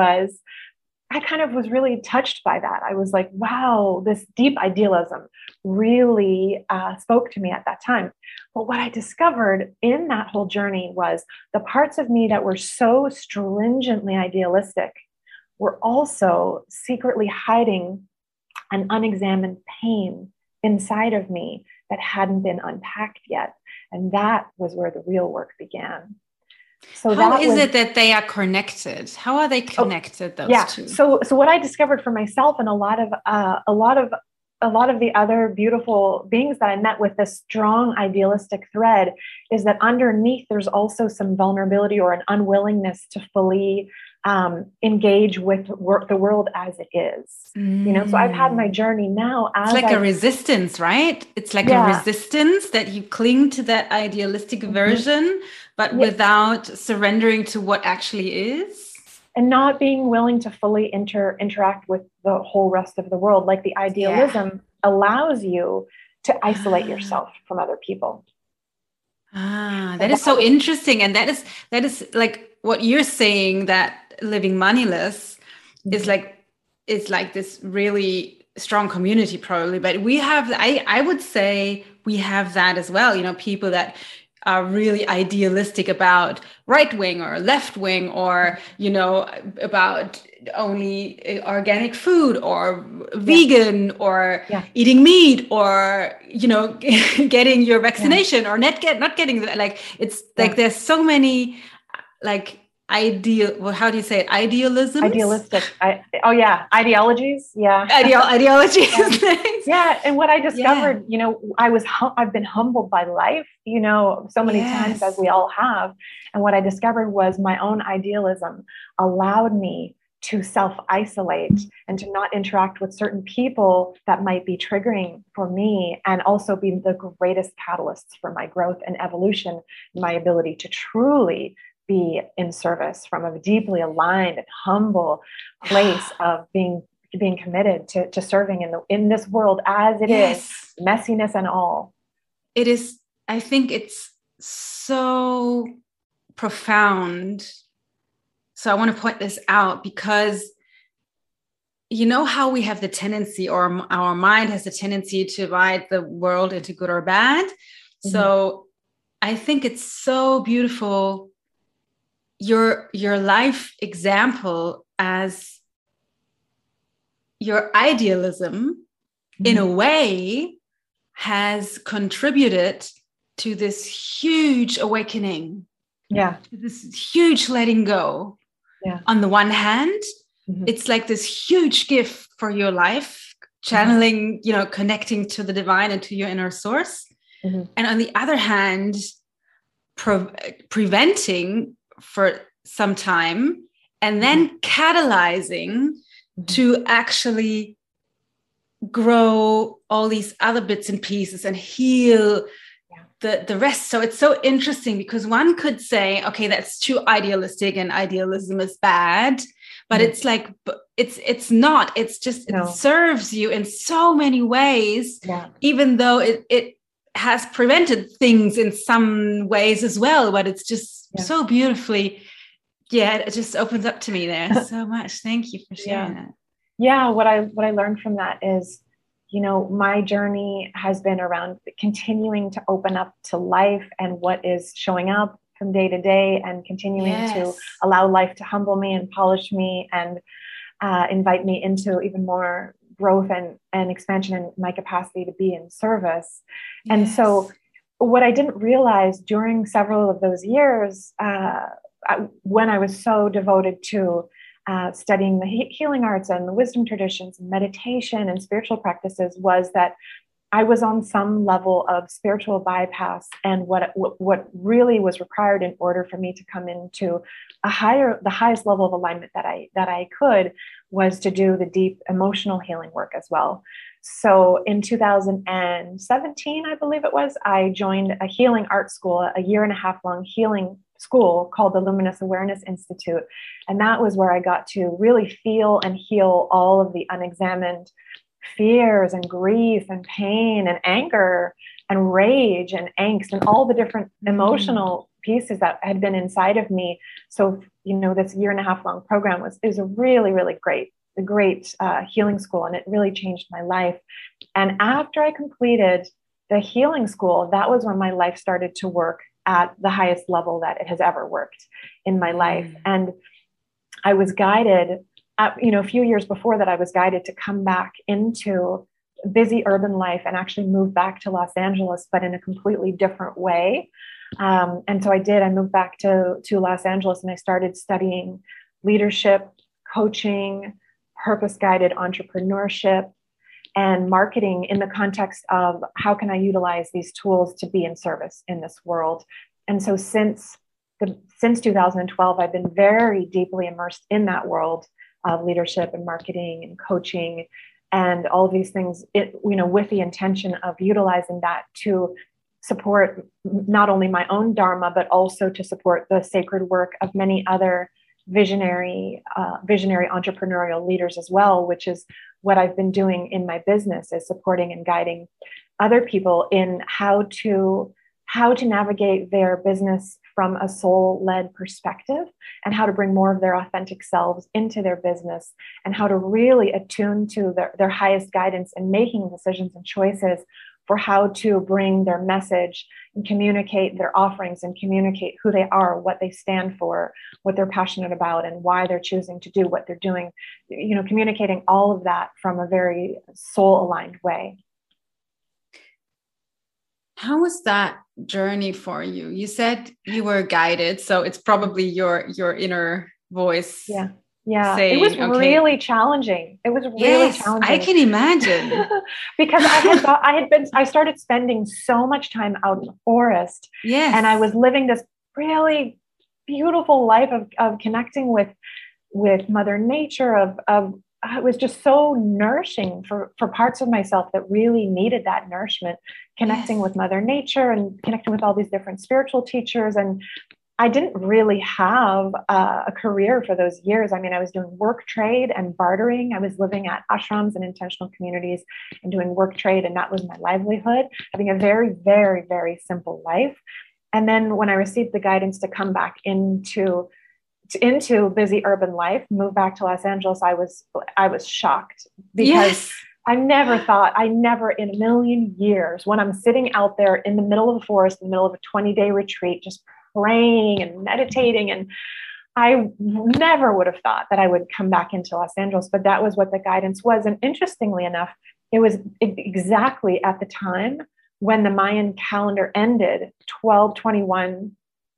I kind of was really touched by that. I was like, wow, this deep idealism really spoke to me at that time. But what I discovered in that whole journey was the parts of me that were so stringently idealistic were also secretly hiding an unexamined pain inside of me that hadn't been unpacked yet. And that was where the real work began. So How that is was, it that they are connected? How are they oh, connected, those yeah. two? So what I discovered for myself and a lot of the other beautiful beings that I met with this strong idealistic thread is that underneath there's also some vulnerability or an unwillingness to fully engage with the world as it is. So I've had my Mm. journey now It's as like a I've, resistance, right? It's like a yeah, resistance that you cling to that idealistic mhm, version, but yeah, without surrendering to what actually is. and not being willing to fully interact with the whole rest of the world. Like the idealism allows you to isolate yourself from other people. That is so interesting. And that is like what you're saying, that living moneyless is like, it's like this really strong community probably, but we have, I would say we have that as well. You know, people that are really idealistic about right wing or left wing, or, you know, about only organic food or vegan or eating meat, or, you know, getting your vaccination or not getting that. Like, it's like, there's so many like how do you say it? Idealistic. Ideologies. Yeah. Ideologies. Yeah. And what I discovered, you know, I've been humbled by life, you know, so many times, as we all have. And what I discovered was my own idealism allowed me to self-isolate and to not interact with certain people that might be triggering for me, and also be the greatest catalysts for my growth and evolution, my ability to truly be in service from a deeply aligned and humble place of being committed to serving in this world as it is, messiness and all. It is. I think it's so profound. So I want to point this out, because you know how we have the tendency, or our mind has the tendency, to divide the world into good or bad. Mm-hmm. So I think it's so beautiful, your life example, as your idealism in a way has contributed to this huge awakening. This huge letting go. On the one hand, it's like this huge gift for your life, channeling, you know, connecting to the divine and to your inner source. And on the other hand, preventing for some time, and then catalyzing to actually grow all these other bits and pieces and heal the rest. So it's so interesting, because one could say, okay, that's too idealistic and idealism is bad, but it's like, it's not, it's just, it serves you in so many ways, even though it has prevented things in some ways as well, but it's just so beautifully, it just opens up to me there so much. Thank you for sharing that. What I learned from that is, you know, my journey has been around continuing to open up to life and what is showing up from day to day, and continuing to allow life to humble me and polish me, and invite me into even more growth and expansion in my capacity to be in service. And so what I didn't realize during several of those years, when I was so devoted to studying the healing arts and the wisdom traditions and meditation and spiritual practices, was that I was on some level of spiritual bypass. And what really was required in order for me to come into the highest level of alignment that I could, was to do the deep emotional healing work as well. So in 2017, I believe it was, I joined a healing art school, a 1.5-year long healing school called the Luminous Awareness Institute. And that was where I got to really feel and heal all of the unexamined fears and grief and pain and anger and rage and angst and all the different emotional pieces that had been inside of me. So, you know, this 1.5-year long program is a really, really great healing school. And it really changed my life. And after I completed the healing school, that was when my life started to work at the highest level that it has ever worked in my life. And I was guided, a few years before that, I was guided to come back into busy urban life and actually move back to Los Angeles, but in a completely different way. And so I did. I moved back to Los Angeles, and I started studying leadership, coaching, purpose-guided entrepreneurship, and marketing in the context of how can I utilize these tools to be in service in this world. And so since 2012, I've been very deeply immersed in that world of leadership and marketing and coaching and all of these things, with the intention of utilizing that to support not only my own dharma, but also to support the sacred work of many other visionary entrepreneurial leaders as well, which is what I've been doing in my business, is supporting and guiding other people in how to navigate their business from a soul-led perspective, and how to bring more of their authentic selves into their business, and how to really attune to their highest guidance in making decisions and choices for how to bring their message and communicate their offerings and communicate who they are, what they stand for, what they're passionate about, and why they're choosing to do what they're doing. Communicating all of that from a very soul-aligned way. How was that journey for you? You said you were guided, so it's probably your inner voice. Yeah. Saying, it was really challenging. It was really challenging. I can imagine. Because I started spending so much time out in the forest. Yes. And I was living this really beautiful life of connecting with Mother Nature, it was just so nourishing for parts of myself that really needed that nourishment, connecting with Mother Nature and connecting with all these different spiritual teachers. And I didn't really have a career for those years. I mean, I was doing work trade and bartering. I was living at ashrams and intentional communities and doing work trade. And that was my livelihood, having a very, very, very simple life. And then when I received the guidance to come back into busy urban life, move back to Los Angeles, I was shocked, because I never in a million years, when I'm sitting out there in the middle of the forest, in the middle of a 20-day retreat, just praying and meditating, and I never would have thought that I would come back into Los Angeles, but that was what the guidance was. And interestingly enough, it was exactly at the time when the Mayan calendar ended, 12/21/12.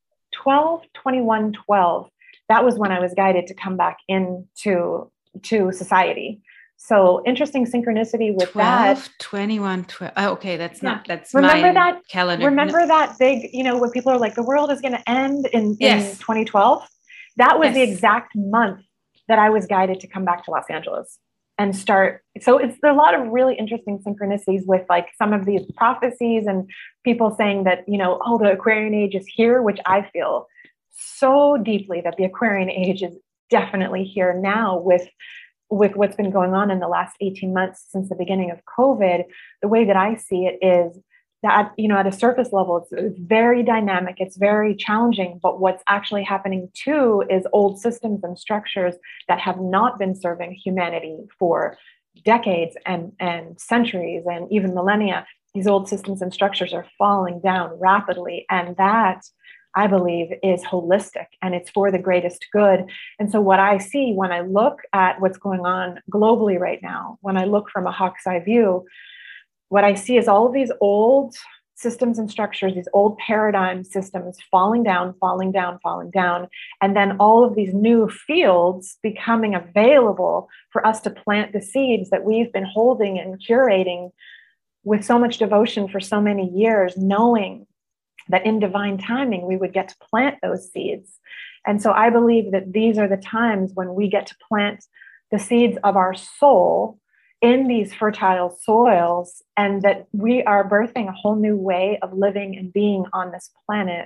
That was when I was guided to come back into society. So interesting synchronicity with 12/21/12. Oh, okay, that's remember my that calendar. Remember that big, when people are like, the world is going to end in 2012. That was the exact month that I was guided to come back to Los Angeles and start. So it's a lot of really interesting synchronicities with like some of these prophecies and people saying that, the Aquarian age is here, which I feel so deeply that the Aquarian age is definitely here now with what's been going on in the last 18 months since the beginning of COVID. The way that I see it is that, at a surface level, it's very dynamic, it's very challenging, but what's actually happening too is old systems and structures that have not been serving humanity for decades and centuries and even millennia. These old systems and structures are falling down rapidly, and that, I believe, is holistic, and it's for the greatest good. And so what I see when I look at what's going on globally right now, when I look from a hawk's eye view, what I see is all of these old systems and structures, these old paradigm systems falling down, and then all of these new fields becoming available for us to plant the seeds that we've been holding and curating with so much devotion for so many years, knowing that in divine timing, we would get to plant those seeds. And so I believe that these are the times when we get to plant the seeds of our soul in these fertile soils, and that we are birthing a whole new way of living and being on this planet.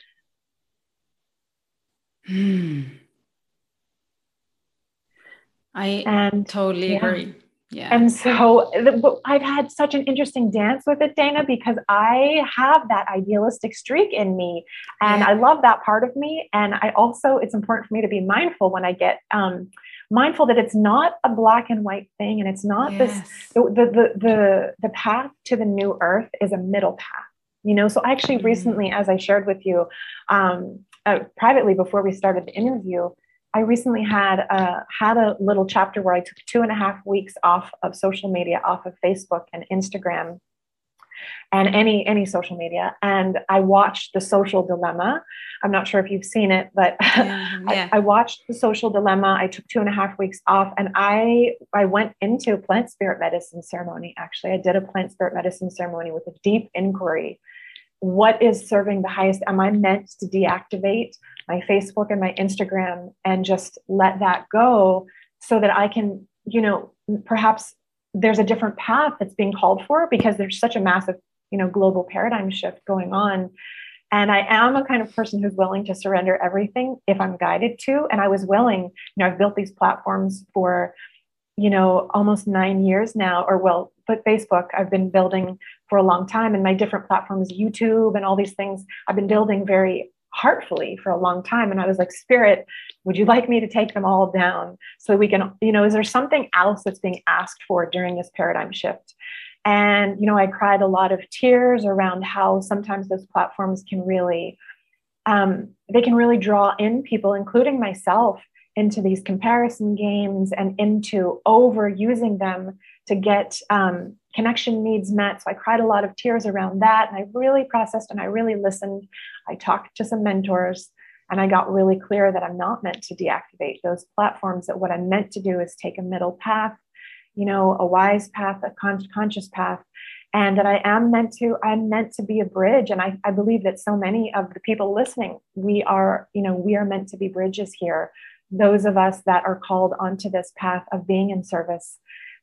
I totally agree. Yeah. And so I've had such an interesting dance with it, Dana, because I have that idealistic streak in me, and I love that part of me. And it's important for me to be mindful when I get mindful that it's not a black and white thing, and it's not the path to the new earth is a middle path. So I actually recently, as I shared with you privately before we started the interview, I recently had a little chapter where I took 2.5 weeks off of social media, off of Facebook and Instagram and any social media. And I watched The Social Dilemma. I'm not sure if you've seen it, but I watched The Social Dilemma. I took 2.5 weeks off, and I went into plant spirit medicine ceremony. Actually, I did a plant spirit medicine ceremony with a deep inquiry. What is serving the highest? Am I meant to deactivate my Facebook and my Instagram and just let that go so that I can, perhaps there's a different path that's being called for, because there's such a massive, global paradigm shift going on. And I am a kind of person who's willing to surrender everything if I'm guided to. And I was willing, I've built these platforms for, almost 9 years now, but Facebook, I've been building for a long time. And my different platforms, YouTube and all these things, I've been building very heartfully for a long time. And I was like, Spirit, would you like me to take them all down so we can, is there something else that's being asked for during this paradigm shift? And, I cried a lot of tears around how sometimes those platforms can really, they can really draw in people, including myself, into these comparison games and into overusing them to get connection needs met. So I cried a lot of tears around that. And I really processed and I really listened. I talked to some mentors and I got really clear that I'm not meant to deactivate those platforms, that what I'm meant to do is take a middle path, a wise path, a conscious path, and that I'm meant to be a bridge. And I believe that so many of the people listening, we are meant to be bridges here. Those of us that are called onto this path of being in service,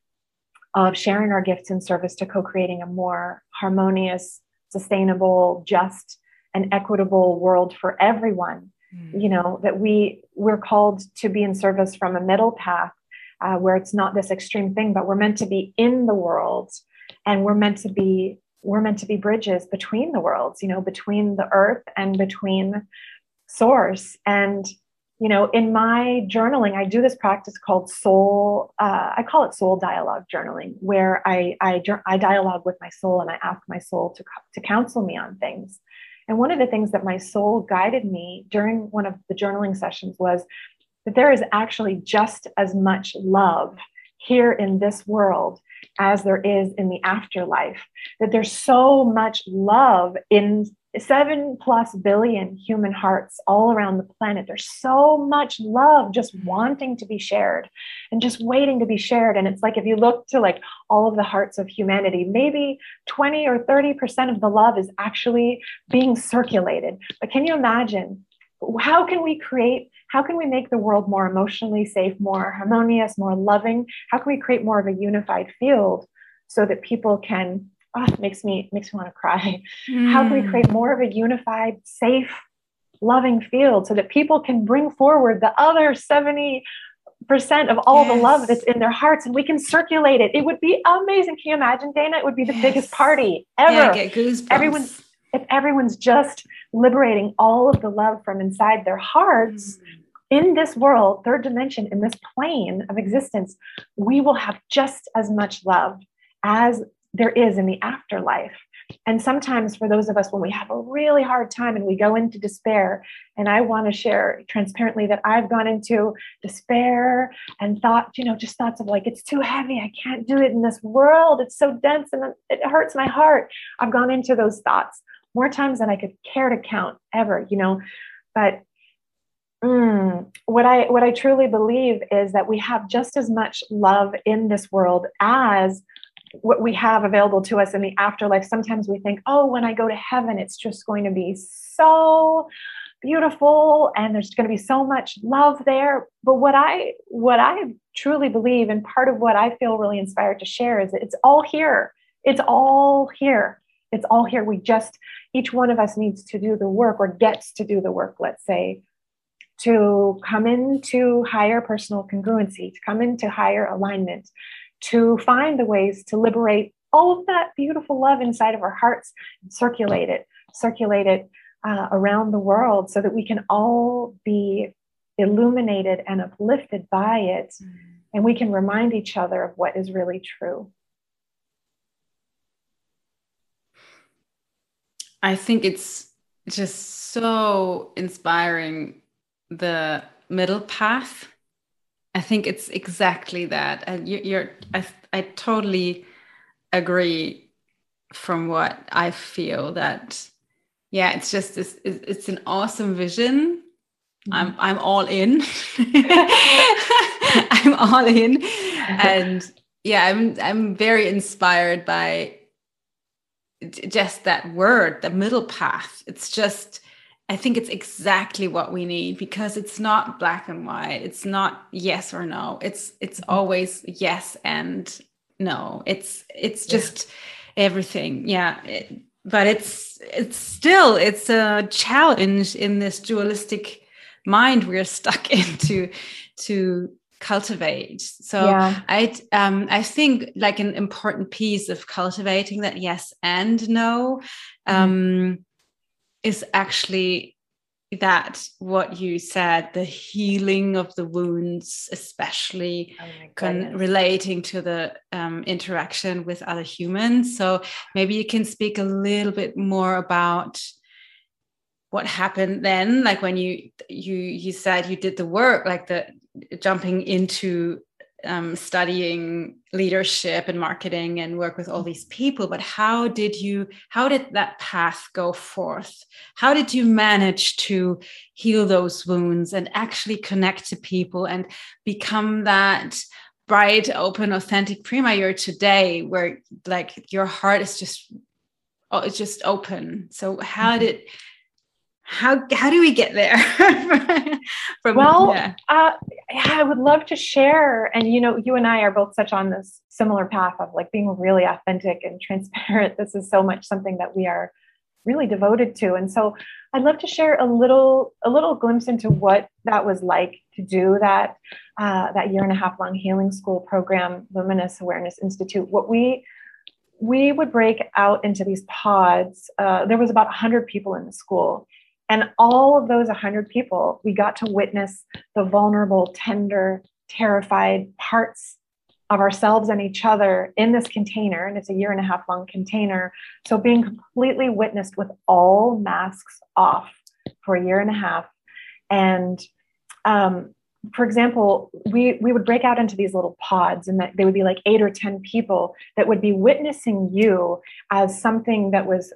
of sharing our gifts in service to co-creating a more harmonious, sustainable, just, and equitable world for everyone. That we're called to be in service from a middle path, where it's not this extreme thing, but we're meant to be in the world, and we're meant to be bridges between the worlds, between the earth and between source. And in my journaling, I do this practice called I call it soul dialogue journaling, where I dialogue with my soul and I ask my soul to counsel me on things. And one of the things that my soul guided me during one of the journaling sessions was that there is actually just as much love here in this world as there is in the afterlife, that there's so much love in 7+ billion human hearts all around the planet. There's so much love just wanting to be shared and just waiting to be shared. And it's like, if you look to like all of the hearts of humanity, maybe 20 or 30% of the love is actually being circulated. But can you imagine, how can we make the world more emotionally safe, more harmonious, more loving? How can we create more of a unified field so that people can, it makes me want to cry. How can we create more of a unified, safe, loving field so that people can bring forward the other 70% of all the love that's in their hearts, and we can circulate it? It would be amazing. Can you imagine, Dana? It would be the biggest party ever. Yeah, I get goosebumps. If everyone's just liberating all of the love from inside their hearts in this world, third dimension, in this plane of existence, we will have just as much love as there is in the afterlife. And sometimes for those of us, when we have a really hard time and we go into despair, and I want to share transparently that I've gone into despair and thought, just thoughts of like, it's too heavy. I can't do it in this world. It's so dense and it hurts my heart. I've gone into those thoughts more times than I could care to count ever, but what I truly believe is that we have just as much love in this world as what we have available to us in the afterlife. Sometimes we think, oh, when I go to heaven, it's just going to be so beautiful and there's going to be so much love there. But what I truly believe, and part of what I feel really inspired to share, is that it's all here. It's all here. It's all here. Each one of us needs to do the work, or gets to do the work, let's say, to come into higher personal congruency, to come into higher alignment, to find the ways to liberate all of that beautiful love inside of our hearts and circulate it around the world so that we can all be illuminated and uplifted by it. And we can remind each other of what is really true. I think it's just so inspiring, the middle path. I think it's exactly that. And I totally agree from what I feel that, yeah, it's just this, it's an awesome vision. I'm all in. I'm all in. And yeah, I'm very inspired by just that word, the middle path. It's just, I think it's exactly what we need, because it's not black and white. It's not yes or no. It's always yes and no. It's just everything. Yeah. but it's a challenge in this dualistic mind we're stuck into to cultivate. So Yeah. I think like an important piece of cultivating that yes and no is actually that what you said, the healing of the wounds, especially relating to the interaction with other humans. So maybe you can speak a little bit more about what happened then, like when you said you did the work, like the jumping into studying leadership and marketing and work with all these people. But how did that path go forth? How did you manage to heal those wounds and actually connect to people and become that bright, open, authentic Prima you're today, where like your heart is just, it's just open? So how do we get there? I would love to share. And, you and I are both such on this similar path of like being really authentic and transparent. This is so much something that we are really devoted to. And so I'd love to share a little glimpse into what that was like to do that 1.5 year long healing school program, Luminous Awareness Institute. What we would break out into these pods. There was about 100 people in the school. And all of those 100 people, we got to witness the vulnerable, tender, terrified parts of ourselves and each other in this container. And it's a 1.5 year long container. So being completely witnessed with all masks off for 1.5 years. And for example, we would break out into these little pods, and that they would be like 8 or 10 people that would be witnessing you as something that was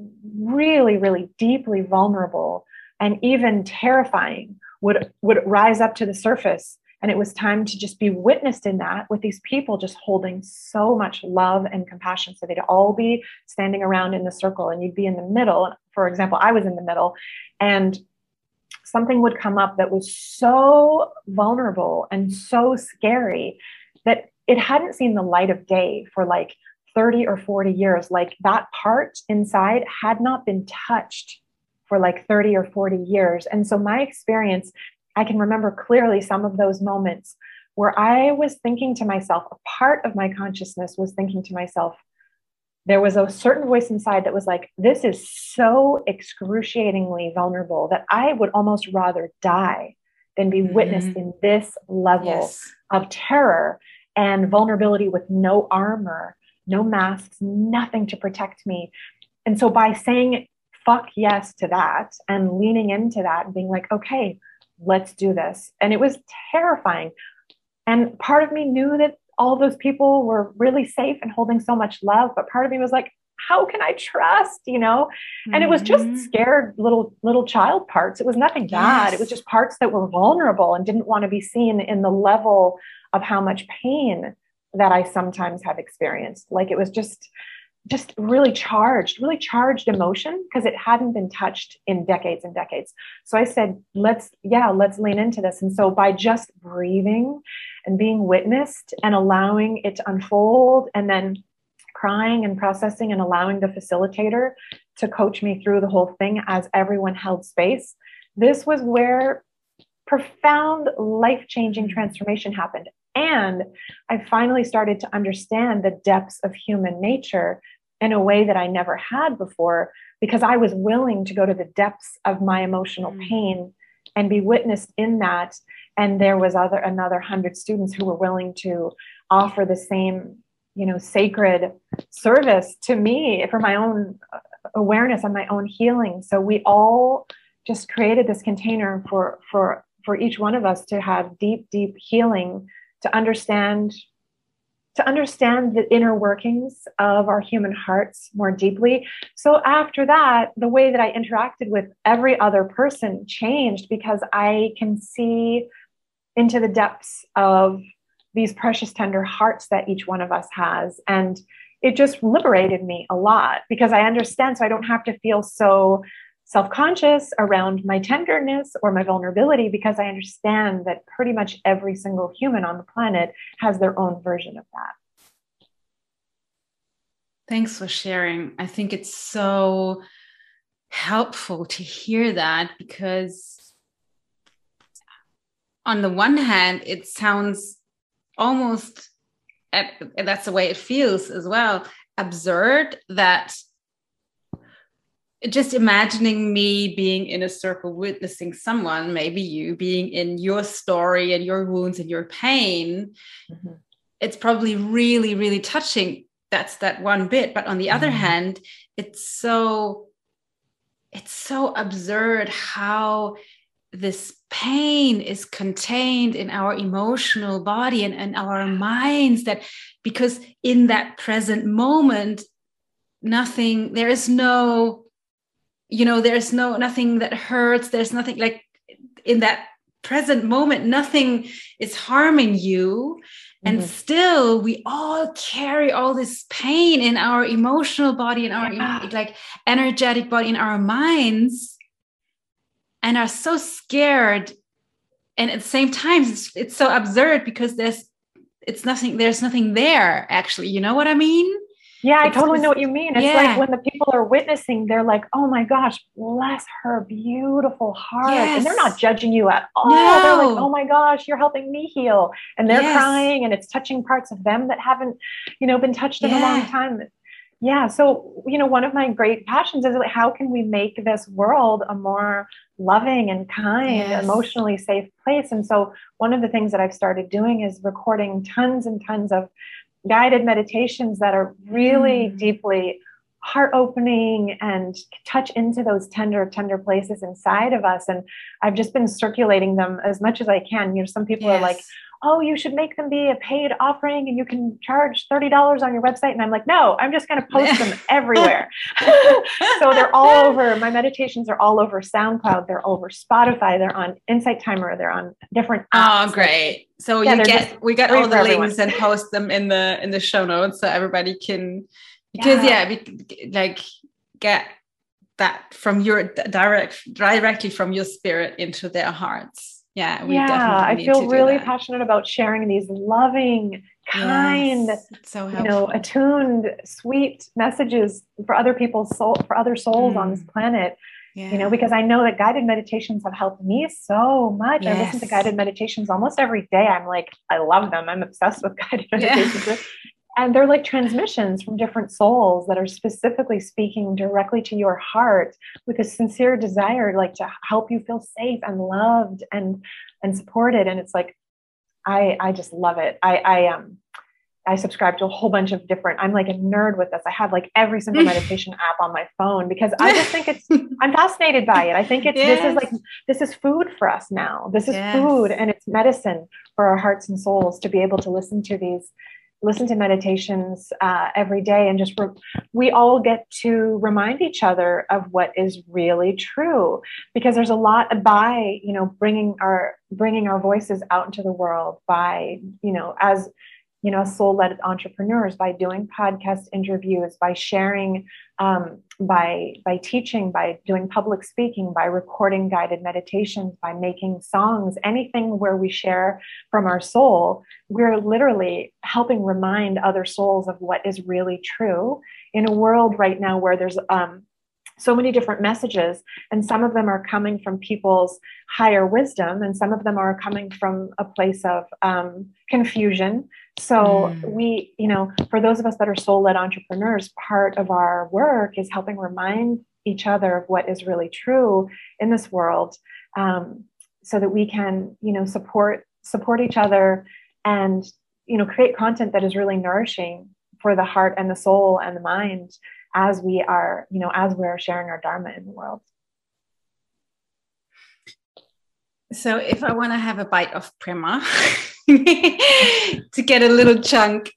really, really deeply vulnerable and even terrifying would rise up to the surface. And it was time to just be witnessed in that, with these people just holding so much love and compassion. So they'd all be standing around in the circle and you'd be in the middle. For example, I was in the middle, and something would come up that was so vulnerable and so scary that it hadn't seen the light of day for like 30 or 40 years. Like that part inside had not been touched for like 30 or 40 years. And so my experience, I can remember clearly some of those moments where I was thinking to myself, a part of my consciousness was thinking to myself, there was a certain voice inside that was like, this is so excruciatingly vulnerable that I would almost rather die than be witnessed in this level of terror and vulnerability with no armor, no masks, nothing to protect me. And so by saying fuck yes to that and leaning into that and being like, okay, let's do this. And it was terrifying. And part of me knew that all those people were really safe and holding so much love. But part of me was like, how can I trust, And it was just scared little child parts. It was nothing bad. It was just parts that were vulnerable and didn't want to be seen in the level of how much pain that I sometimes have experienced. Like it was just really charged emotion, because it hadn't been touched in decades and decades. So I said, let's lean into this. And so by just breathing and being witnessed and allowing it to unfold, and then crying and processing and allowing the facilitator to coach me through the whole thing as everyone held space, this was where profound life-changing transformation happened. And I finally started to understand the depths of human nature in a way that I never had before, because I was willing to go to the depths of my emotional pain and be witnessed in that. And there was another 100 students who were willing to offer the same, sacred service to me for my own awareness and my own healing. So we all just created this container for each one of us to have deep, deep healing, to understand the inner workings of our human hearts more deeply. So after that, the way that I interacted with every other person changed, because I can see into the depths of these precious, tender hearts that each one of us has. And it just liberated me a lot, because I understand, so I don't have to feel so self-conscious around my tenderness or my vulnerability, because I understand that pretty much every single human on the planet has their own version of that. Thanks for sharing. I think it's so helpful to hear that, because on the one hand, it sounds almost, and that's the way it feels as well, absurd, that just imagining me being in a circle witnessing someone, maybe you being in your story and your wounds and your pain, it's probably really, really touching. That's that one bit. But on the other hand, it's so absurd how this pain is contained in our emotional body and our minds, that because in that present moment, there's nothing that hurts. There's nothing, like, in that present moment, nothing is harming you. And still we all carry all this pain in our emotional body, in our like energetic body, in our minds, and are so scared. And at the same time, it's so absurd, because there's nothing there, actually. You know what I mean? Yeah, I totally know what you mean. It's like when the people are witnessing, they're like, oh my gosh, bless her beautiful heart. Yes. And they're not judging you at all. No. They're like, oh my gosh, you're helping me heal. And they're crying, and it's touching parts of them that haven't, been touched in a long time. Yeah. So, one of my great passions is, like, how can we make this world a more loving and kind, emotionally safe place? And so one of the things that I've started doing is recording tons and tons of guided meditations that are really deeply heart-opening and touch into those tender places inside of us. And I've just been circulating them as much as I can. Some people are like, oh, you should make them be a paid offering and you can charge $30 on your website. And I'm like, no, I'm just going to post them everywhere. So they're all over. My meditations are all over SoundCloud. They're over Spotify. They're on Insight Timer. They're on different apps. Oh, great. So we got all the links and post them in the show notes so everybody can, because get that from your directly from your spirit into their hearts. Yeah, I feel really passionate about sharing these loving, kind, attuned, sweet messages for other people's soul, for other souls on this planet. Because I know that guided meditations have helped me so much. I listen to guided meditations almost every day. I'm like, I love them. I'm obsessed with guided meditations. And they're like transmissions from different souls that are specifically speaking directly to your heart with a sincere desire, like, to help you feel safe and loved and supported. And it's like, I just love it. I subscribe to a whole bunch of different, I'm like a nerd with this. I have like every single meditation app on my phone, because I just think I'm fascinated by it. I think this is food for us now. This is food, and it's medicine for our hearts and souls to be able to listen to meditations every day, and just we all get to remind each other of what is really true, because there's a lot by bringing our voices out into the world, by as soul-led entrepreneurs, by doing podcast interviews, by sharing, by teaching, by doing public speaking, by recording guided meditations, by making songs, anything where we share from our soul. We're literally helping remind other souls of what is really true in a world right now where there's so many different messages, and some of them are coming from people's higher wisdom, and some of them are coming from a place of confusion. So we, for those of us that are soul-led entrepreneurs, part of our work is helping remind each other of what is really true in this world, so that we can, support each other and, create content that is really nourishing for the heart and the soul and the mind, as we are, as we're sharing our Dharma in the world. So if I want to have a bite of Prema to get a little chunk,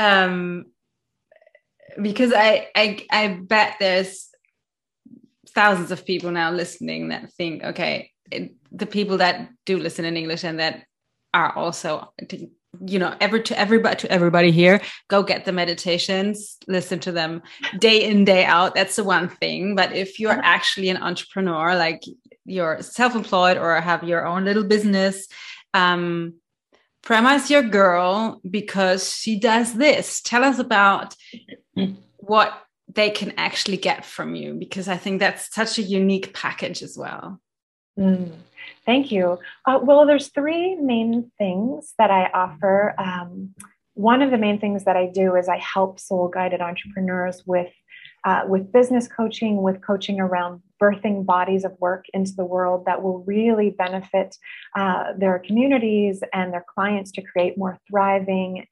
because I bet there's thousands of people now listening that think, okay, the people that do listen in English and that are also, to everybody here, go get the meditations, listen to them day in, day out. That's the one thing. But if you're actually an entrepreneur, like you're self-employed or have your own little business, Prema is your girl because she does this. Tell us about what they can actually get from you, because I think that's such a unique package as well. Thank you. Well, there's three main things that I offer. One of the main things that I do is I help soul-guided entrepreneurs with business coaching, with coaching around birthing bodies of work into the world that will really benefit their communities and their clients to create more thriving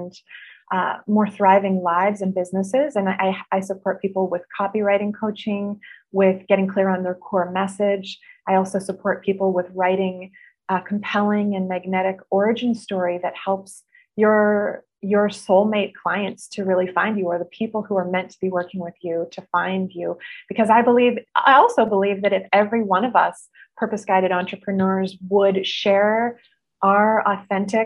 lives and businesses. And I support people with copywriting coaching, with getting clear on their core message. I also support people with writing a compelling and magnetic origin story that helps your soulmate clients to really find you, or the people who are meant to be working with you to find you. Because I also believe that if every one of us purpose-guided entrepreneurs would share our authentic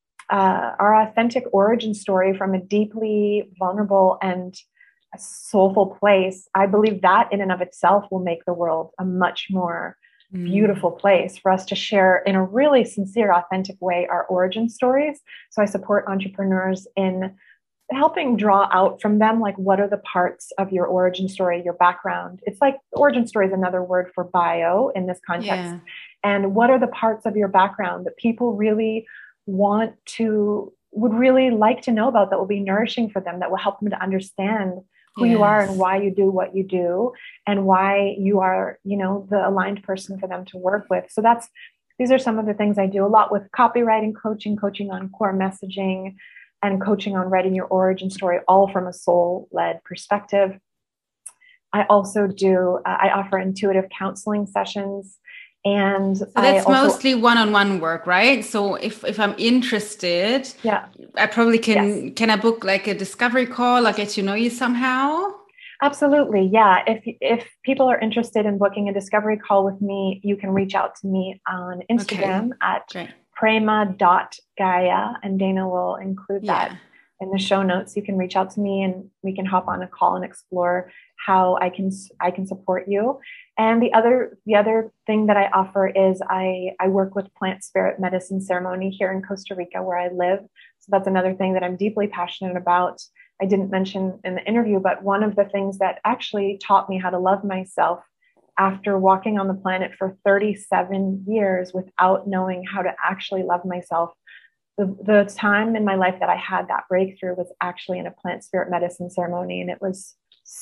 origin story from a deeply vulnerable and a soulful place, I believe that in and of itself will make the world a much more beautiful place for us to share in a really sincere, authentic way our origin stories. So I support entrepreneurs in helping draw out from them, like, what are the parts of your origin story, your background? It's like origin story is another word for bio in this context. Yeah. And what are the parts of your background that people really would really like to know about, that will be nourishing for them, that will help them to understand who you are and why you do what you do, and why you are, the aligned person for them to work with. So these are some of the things I do. A lot with copywriting coaching on core messaging, and coaching on writing your origin story, all from a soul-led perspective. I also I offer intuitive counseling sessions. And so that's mostly one-on-one work, right? So if I'm interested, I probably can I book like a discovery call, or get to know you somehow? Absolutely. Yeah. If people are interested in booking a discovery call with me, you can reach out to me on Instagram at prema.gaia, and Dana will include that in the show notes. You can reach out to me and we can hop on a call and explore how I can support you. And the other thing that I offer is I work with plant spirit medicine ceremony here in Costa Rica, where I live. So that's another thing that I'm deeply passionate about. I didn't mention in the interview, but one of the things that actually taught me how to love myself after walking on the planet for 37 years without knowing how to actually love myself, the time in my life that I had that breakthrough was actually in a plant spirit medicine ceremony. And it was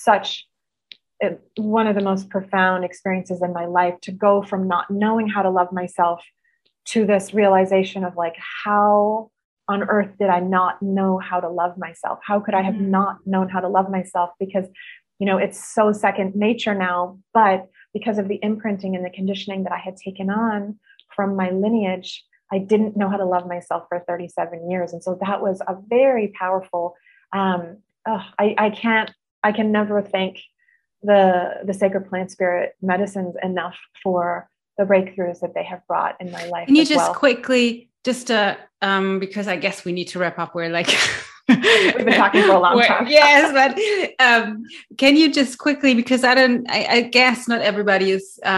one of the most profound experiences in my life, to go from not knowing how to love myself to this realization of, like, how on earth did I not know how to love myself? How could I have not known how to love myself? Because, it's so second nature now, but because of the imprinting and the conditioning that I had taken on from my lineage, I didn't know how to love myself for 37 years. And so that was a very powerful, I can never thank the sacred plant spirit medicines enough for the breakthroughs that they have brought in my life. Can you just quickly, because I guess we need to wrap up. We're like, we've been talking for a long time. Yes, but can you just quickly, because I guess not everybody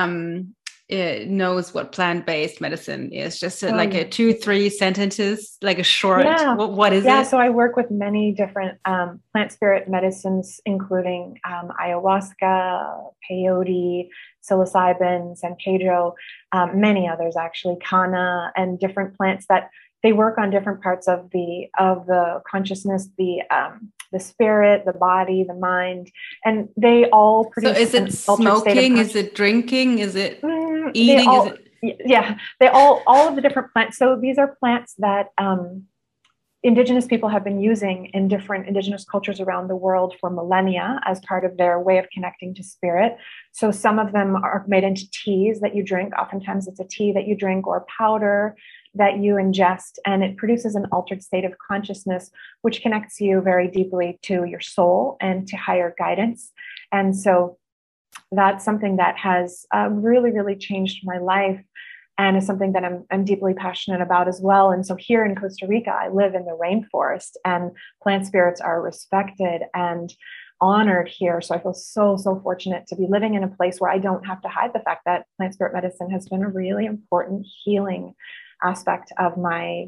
knows what plant-based medicine is. Just like a 2-3 sentences, like a short. What is it? Yeah, so I work with many different plant spirit medicines, including ayahuasca, peyote, psilocybin, San Pedro, many others actually, canna, and different plants that they work on different parts of the consciousness, the spirit, the body, the mind, and they all produce. So is it smoking? Is it drinking? Is it eating? They all of the different plants. So these are plants that indigenous people have been using in different indigenous cultures around the world for millennia as part of their way of connecting to spirit. So some of them are made into teas that you drink. Oftentimes it's a tea that you drink or powder that you ingest, and it produces an altered state of consciousness, which connects you very deeply to your soul and to higher guidance. And so that's something that has really, really changed my life, and is something that I'm deeply passionate about as well. And so here in Costa Rica, I live in the rainforest, and plant spirits are respected and honored here. So I feel so, so fortunate to be living in a place where I don't have to hide the fact that plant spirit medicine has been a really important healing aspect of my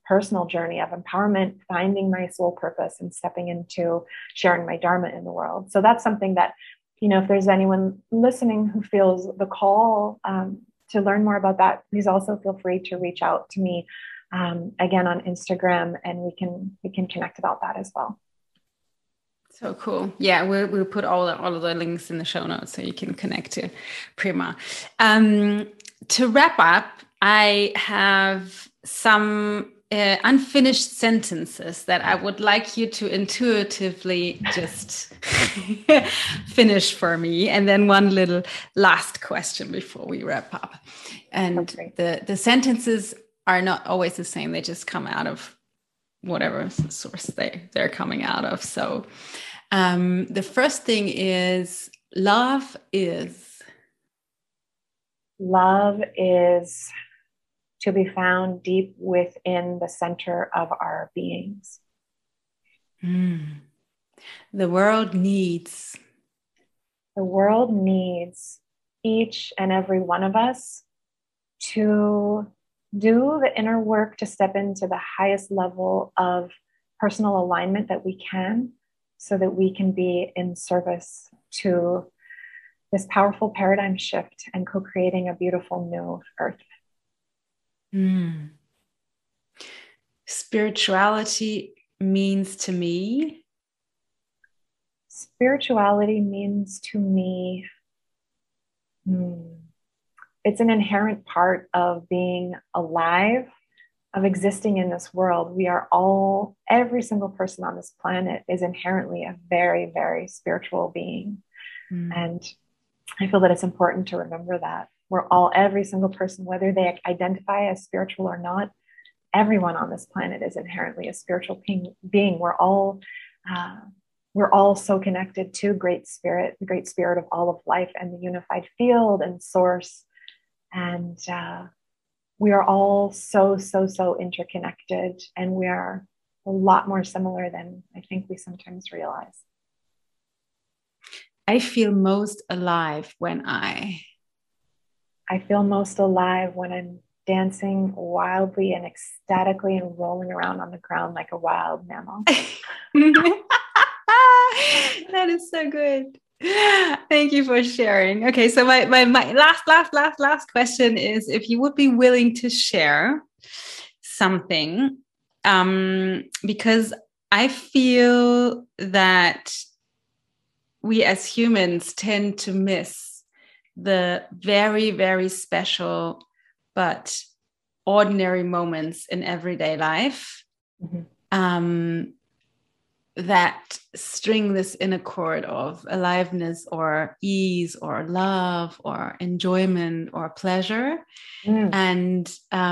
personal journey of empowerment, finding my soul purpose and stepping into sharing my Dharma in the world. So that's something that, if there's anyone listening who feels the call to learn more about that, please also feel free to reach out to me again on Instagram, and we can connect about that as well. So cool. Yeah, we'll put all of the links in the show notes so you can connect to Prema. To wrap up, I have some unfinished sentences that I would like you to intuitively just finish for me. And then one little last question before we wrap up. And the sentences are not always the same. They just come out of whatever source they're coming out of. So the first thing is love is to be found deep within the center of our beings. The world needs each and every one of us to do the inner work to step into the highest level of personal alignment that we can, so that we can be in service to this powerful paradigm shift and co-creating a beautiful new earth. Spirituality means to me. It's an inherent part of being alive, of existing in this world. We are all, every single person on this planet is inherently a very, very spiritual being. And I feel that it's important to remember that. Every single person, whether they identify as spiritual or not, everyone on this planet is inherently a spiritual being. We're all so connected to Great Spirit, the Great Spirit of all of life and the unified field and source. And we are all so interconnected, and we are a lot more similar than I think we sometimes realize. I feel most alive when I feel most alive when I'm dancing wildly and ecstatically and rolling around on the ground like a wild mammal. That is so good. Thank you for sharing. Okay, so my last question is, if you would be willing to share something, because I feel that we as humans tend to miss the very, very special but ordinary moments in everyday life that string this inner chord of aliveness or ease or love or enjoyment or pleasure. And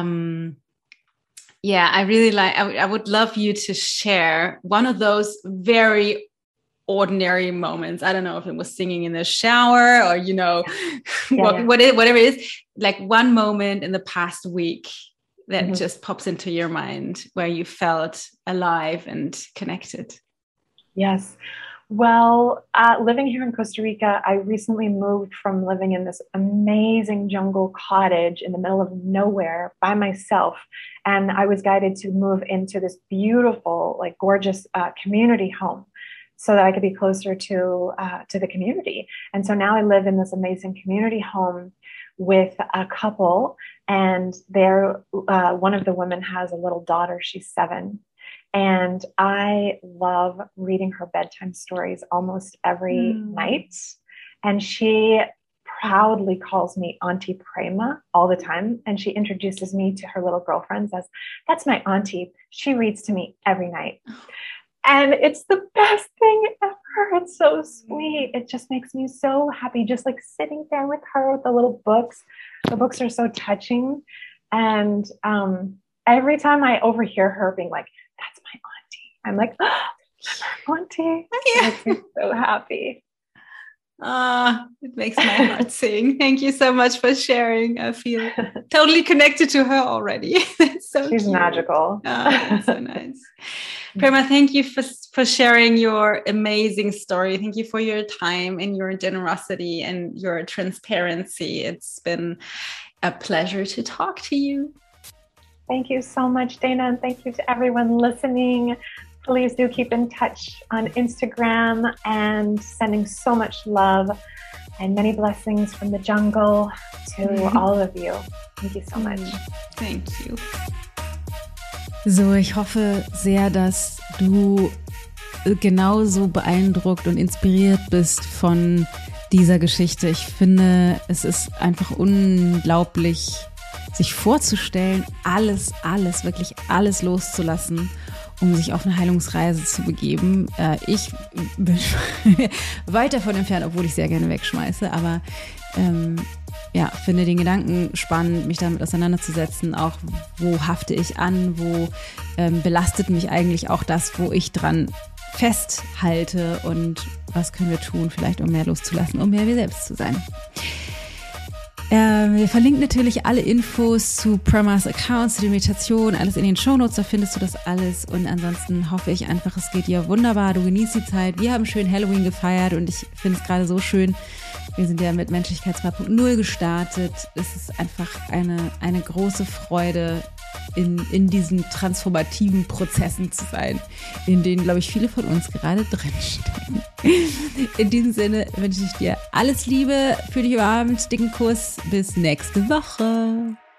I really I would love you to share one of those very ordinary moments. I don't know if it was singing in the shower or, whatever it is, like one moment in the past week that just pops into your mind where you felt alive and connected. Yes. Well, living here in Costa Rica, I recently moved from living in this amazing jungle cottage in the middle of nowhere by myself. And I was guided to move into this beautiful, like gorgeous community home so that I could be closer to the community. And so now I live in this amazing community home with a couple, and one of the women has a little daughter. She's 7. And I love reading her bedtime stories almost every night. And she proudly calls me Auntie Prema all the time. And she introduces me to her little girlfriends as, that's my auntie. She reads to me every night. And it's the best thing ever. It's so sweet. It just makes me so happy, just like sitting there with her with the little books. The books are so touching. And every time I overhear her being like, that's my auntie, I'm like, oh, that's my auntie. Yeah. It makes me so happy. It makes my heart sing. Thank you so much for sharing. I feel totally connected to her already. She's cute. Magical. That's so nice. Prema, thank you for sharing your amazing story. Thank you for your time and your generosity and your transparency. It's been a pleasure to talk to you. Thank you so much, Dana, and thank you to everyone listening. Please do keep in touch on Instagram and sending so much love and many blessings from the jungle to all of you. Thank you so much. Thank you. So, ich hoffe sehr, dass du genauso beeindruckt und inspiriert bist von dieser Geschichte. Ich finde, es ist einfach unglaublich, sich vorzustellen, wirklich alles loszulassen, um sich auf eine Heilungsreise zu begeben. Ich bin weit davon entfernt, obwohl ich sehr gerne wegschmeiße, aber finde den Gedanken spannend, mich damit auseinanderzusetzen, auch wo hafte ich an, wo belastet mich eigentlich auch das, wo ich dran festhalte und was können wir tun, vielleicht um mehr loszulassen, um mehr wir selbst zu sein. Wir verlinken natürlich alle Infos zu Pramas Accounts, zu der Meditation, alles in den Shownotes, da findest du das alles. Und ansonsten hoffe ich einfach, es geht dir wunderbar, du genießt die Zeit. Wir haben schön Halloween gefeiert und ich finde es gerade so schön. Wir sind ja mit Menschlichkeit 2.0 gestartet. Es ist einfach eine große Freude, in diesen transformativen Prozessen zu sein, in denen, glaube ich, viele von uns gerade drinstecken. In diesem Sinne wünsche ich dir alles Liebe, fühl dich umarmt, dicken Kuss, bis nächste Woche.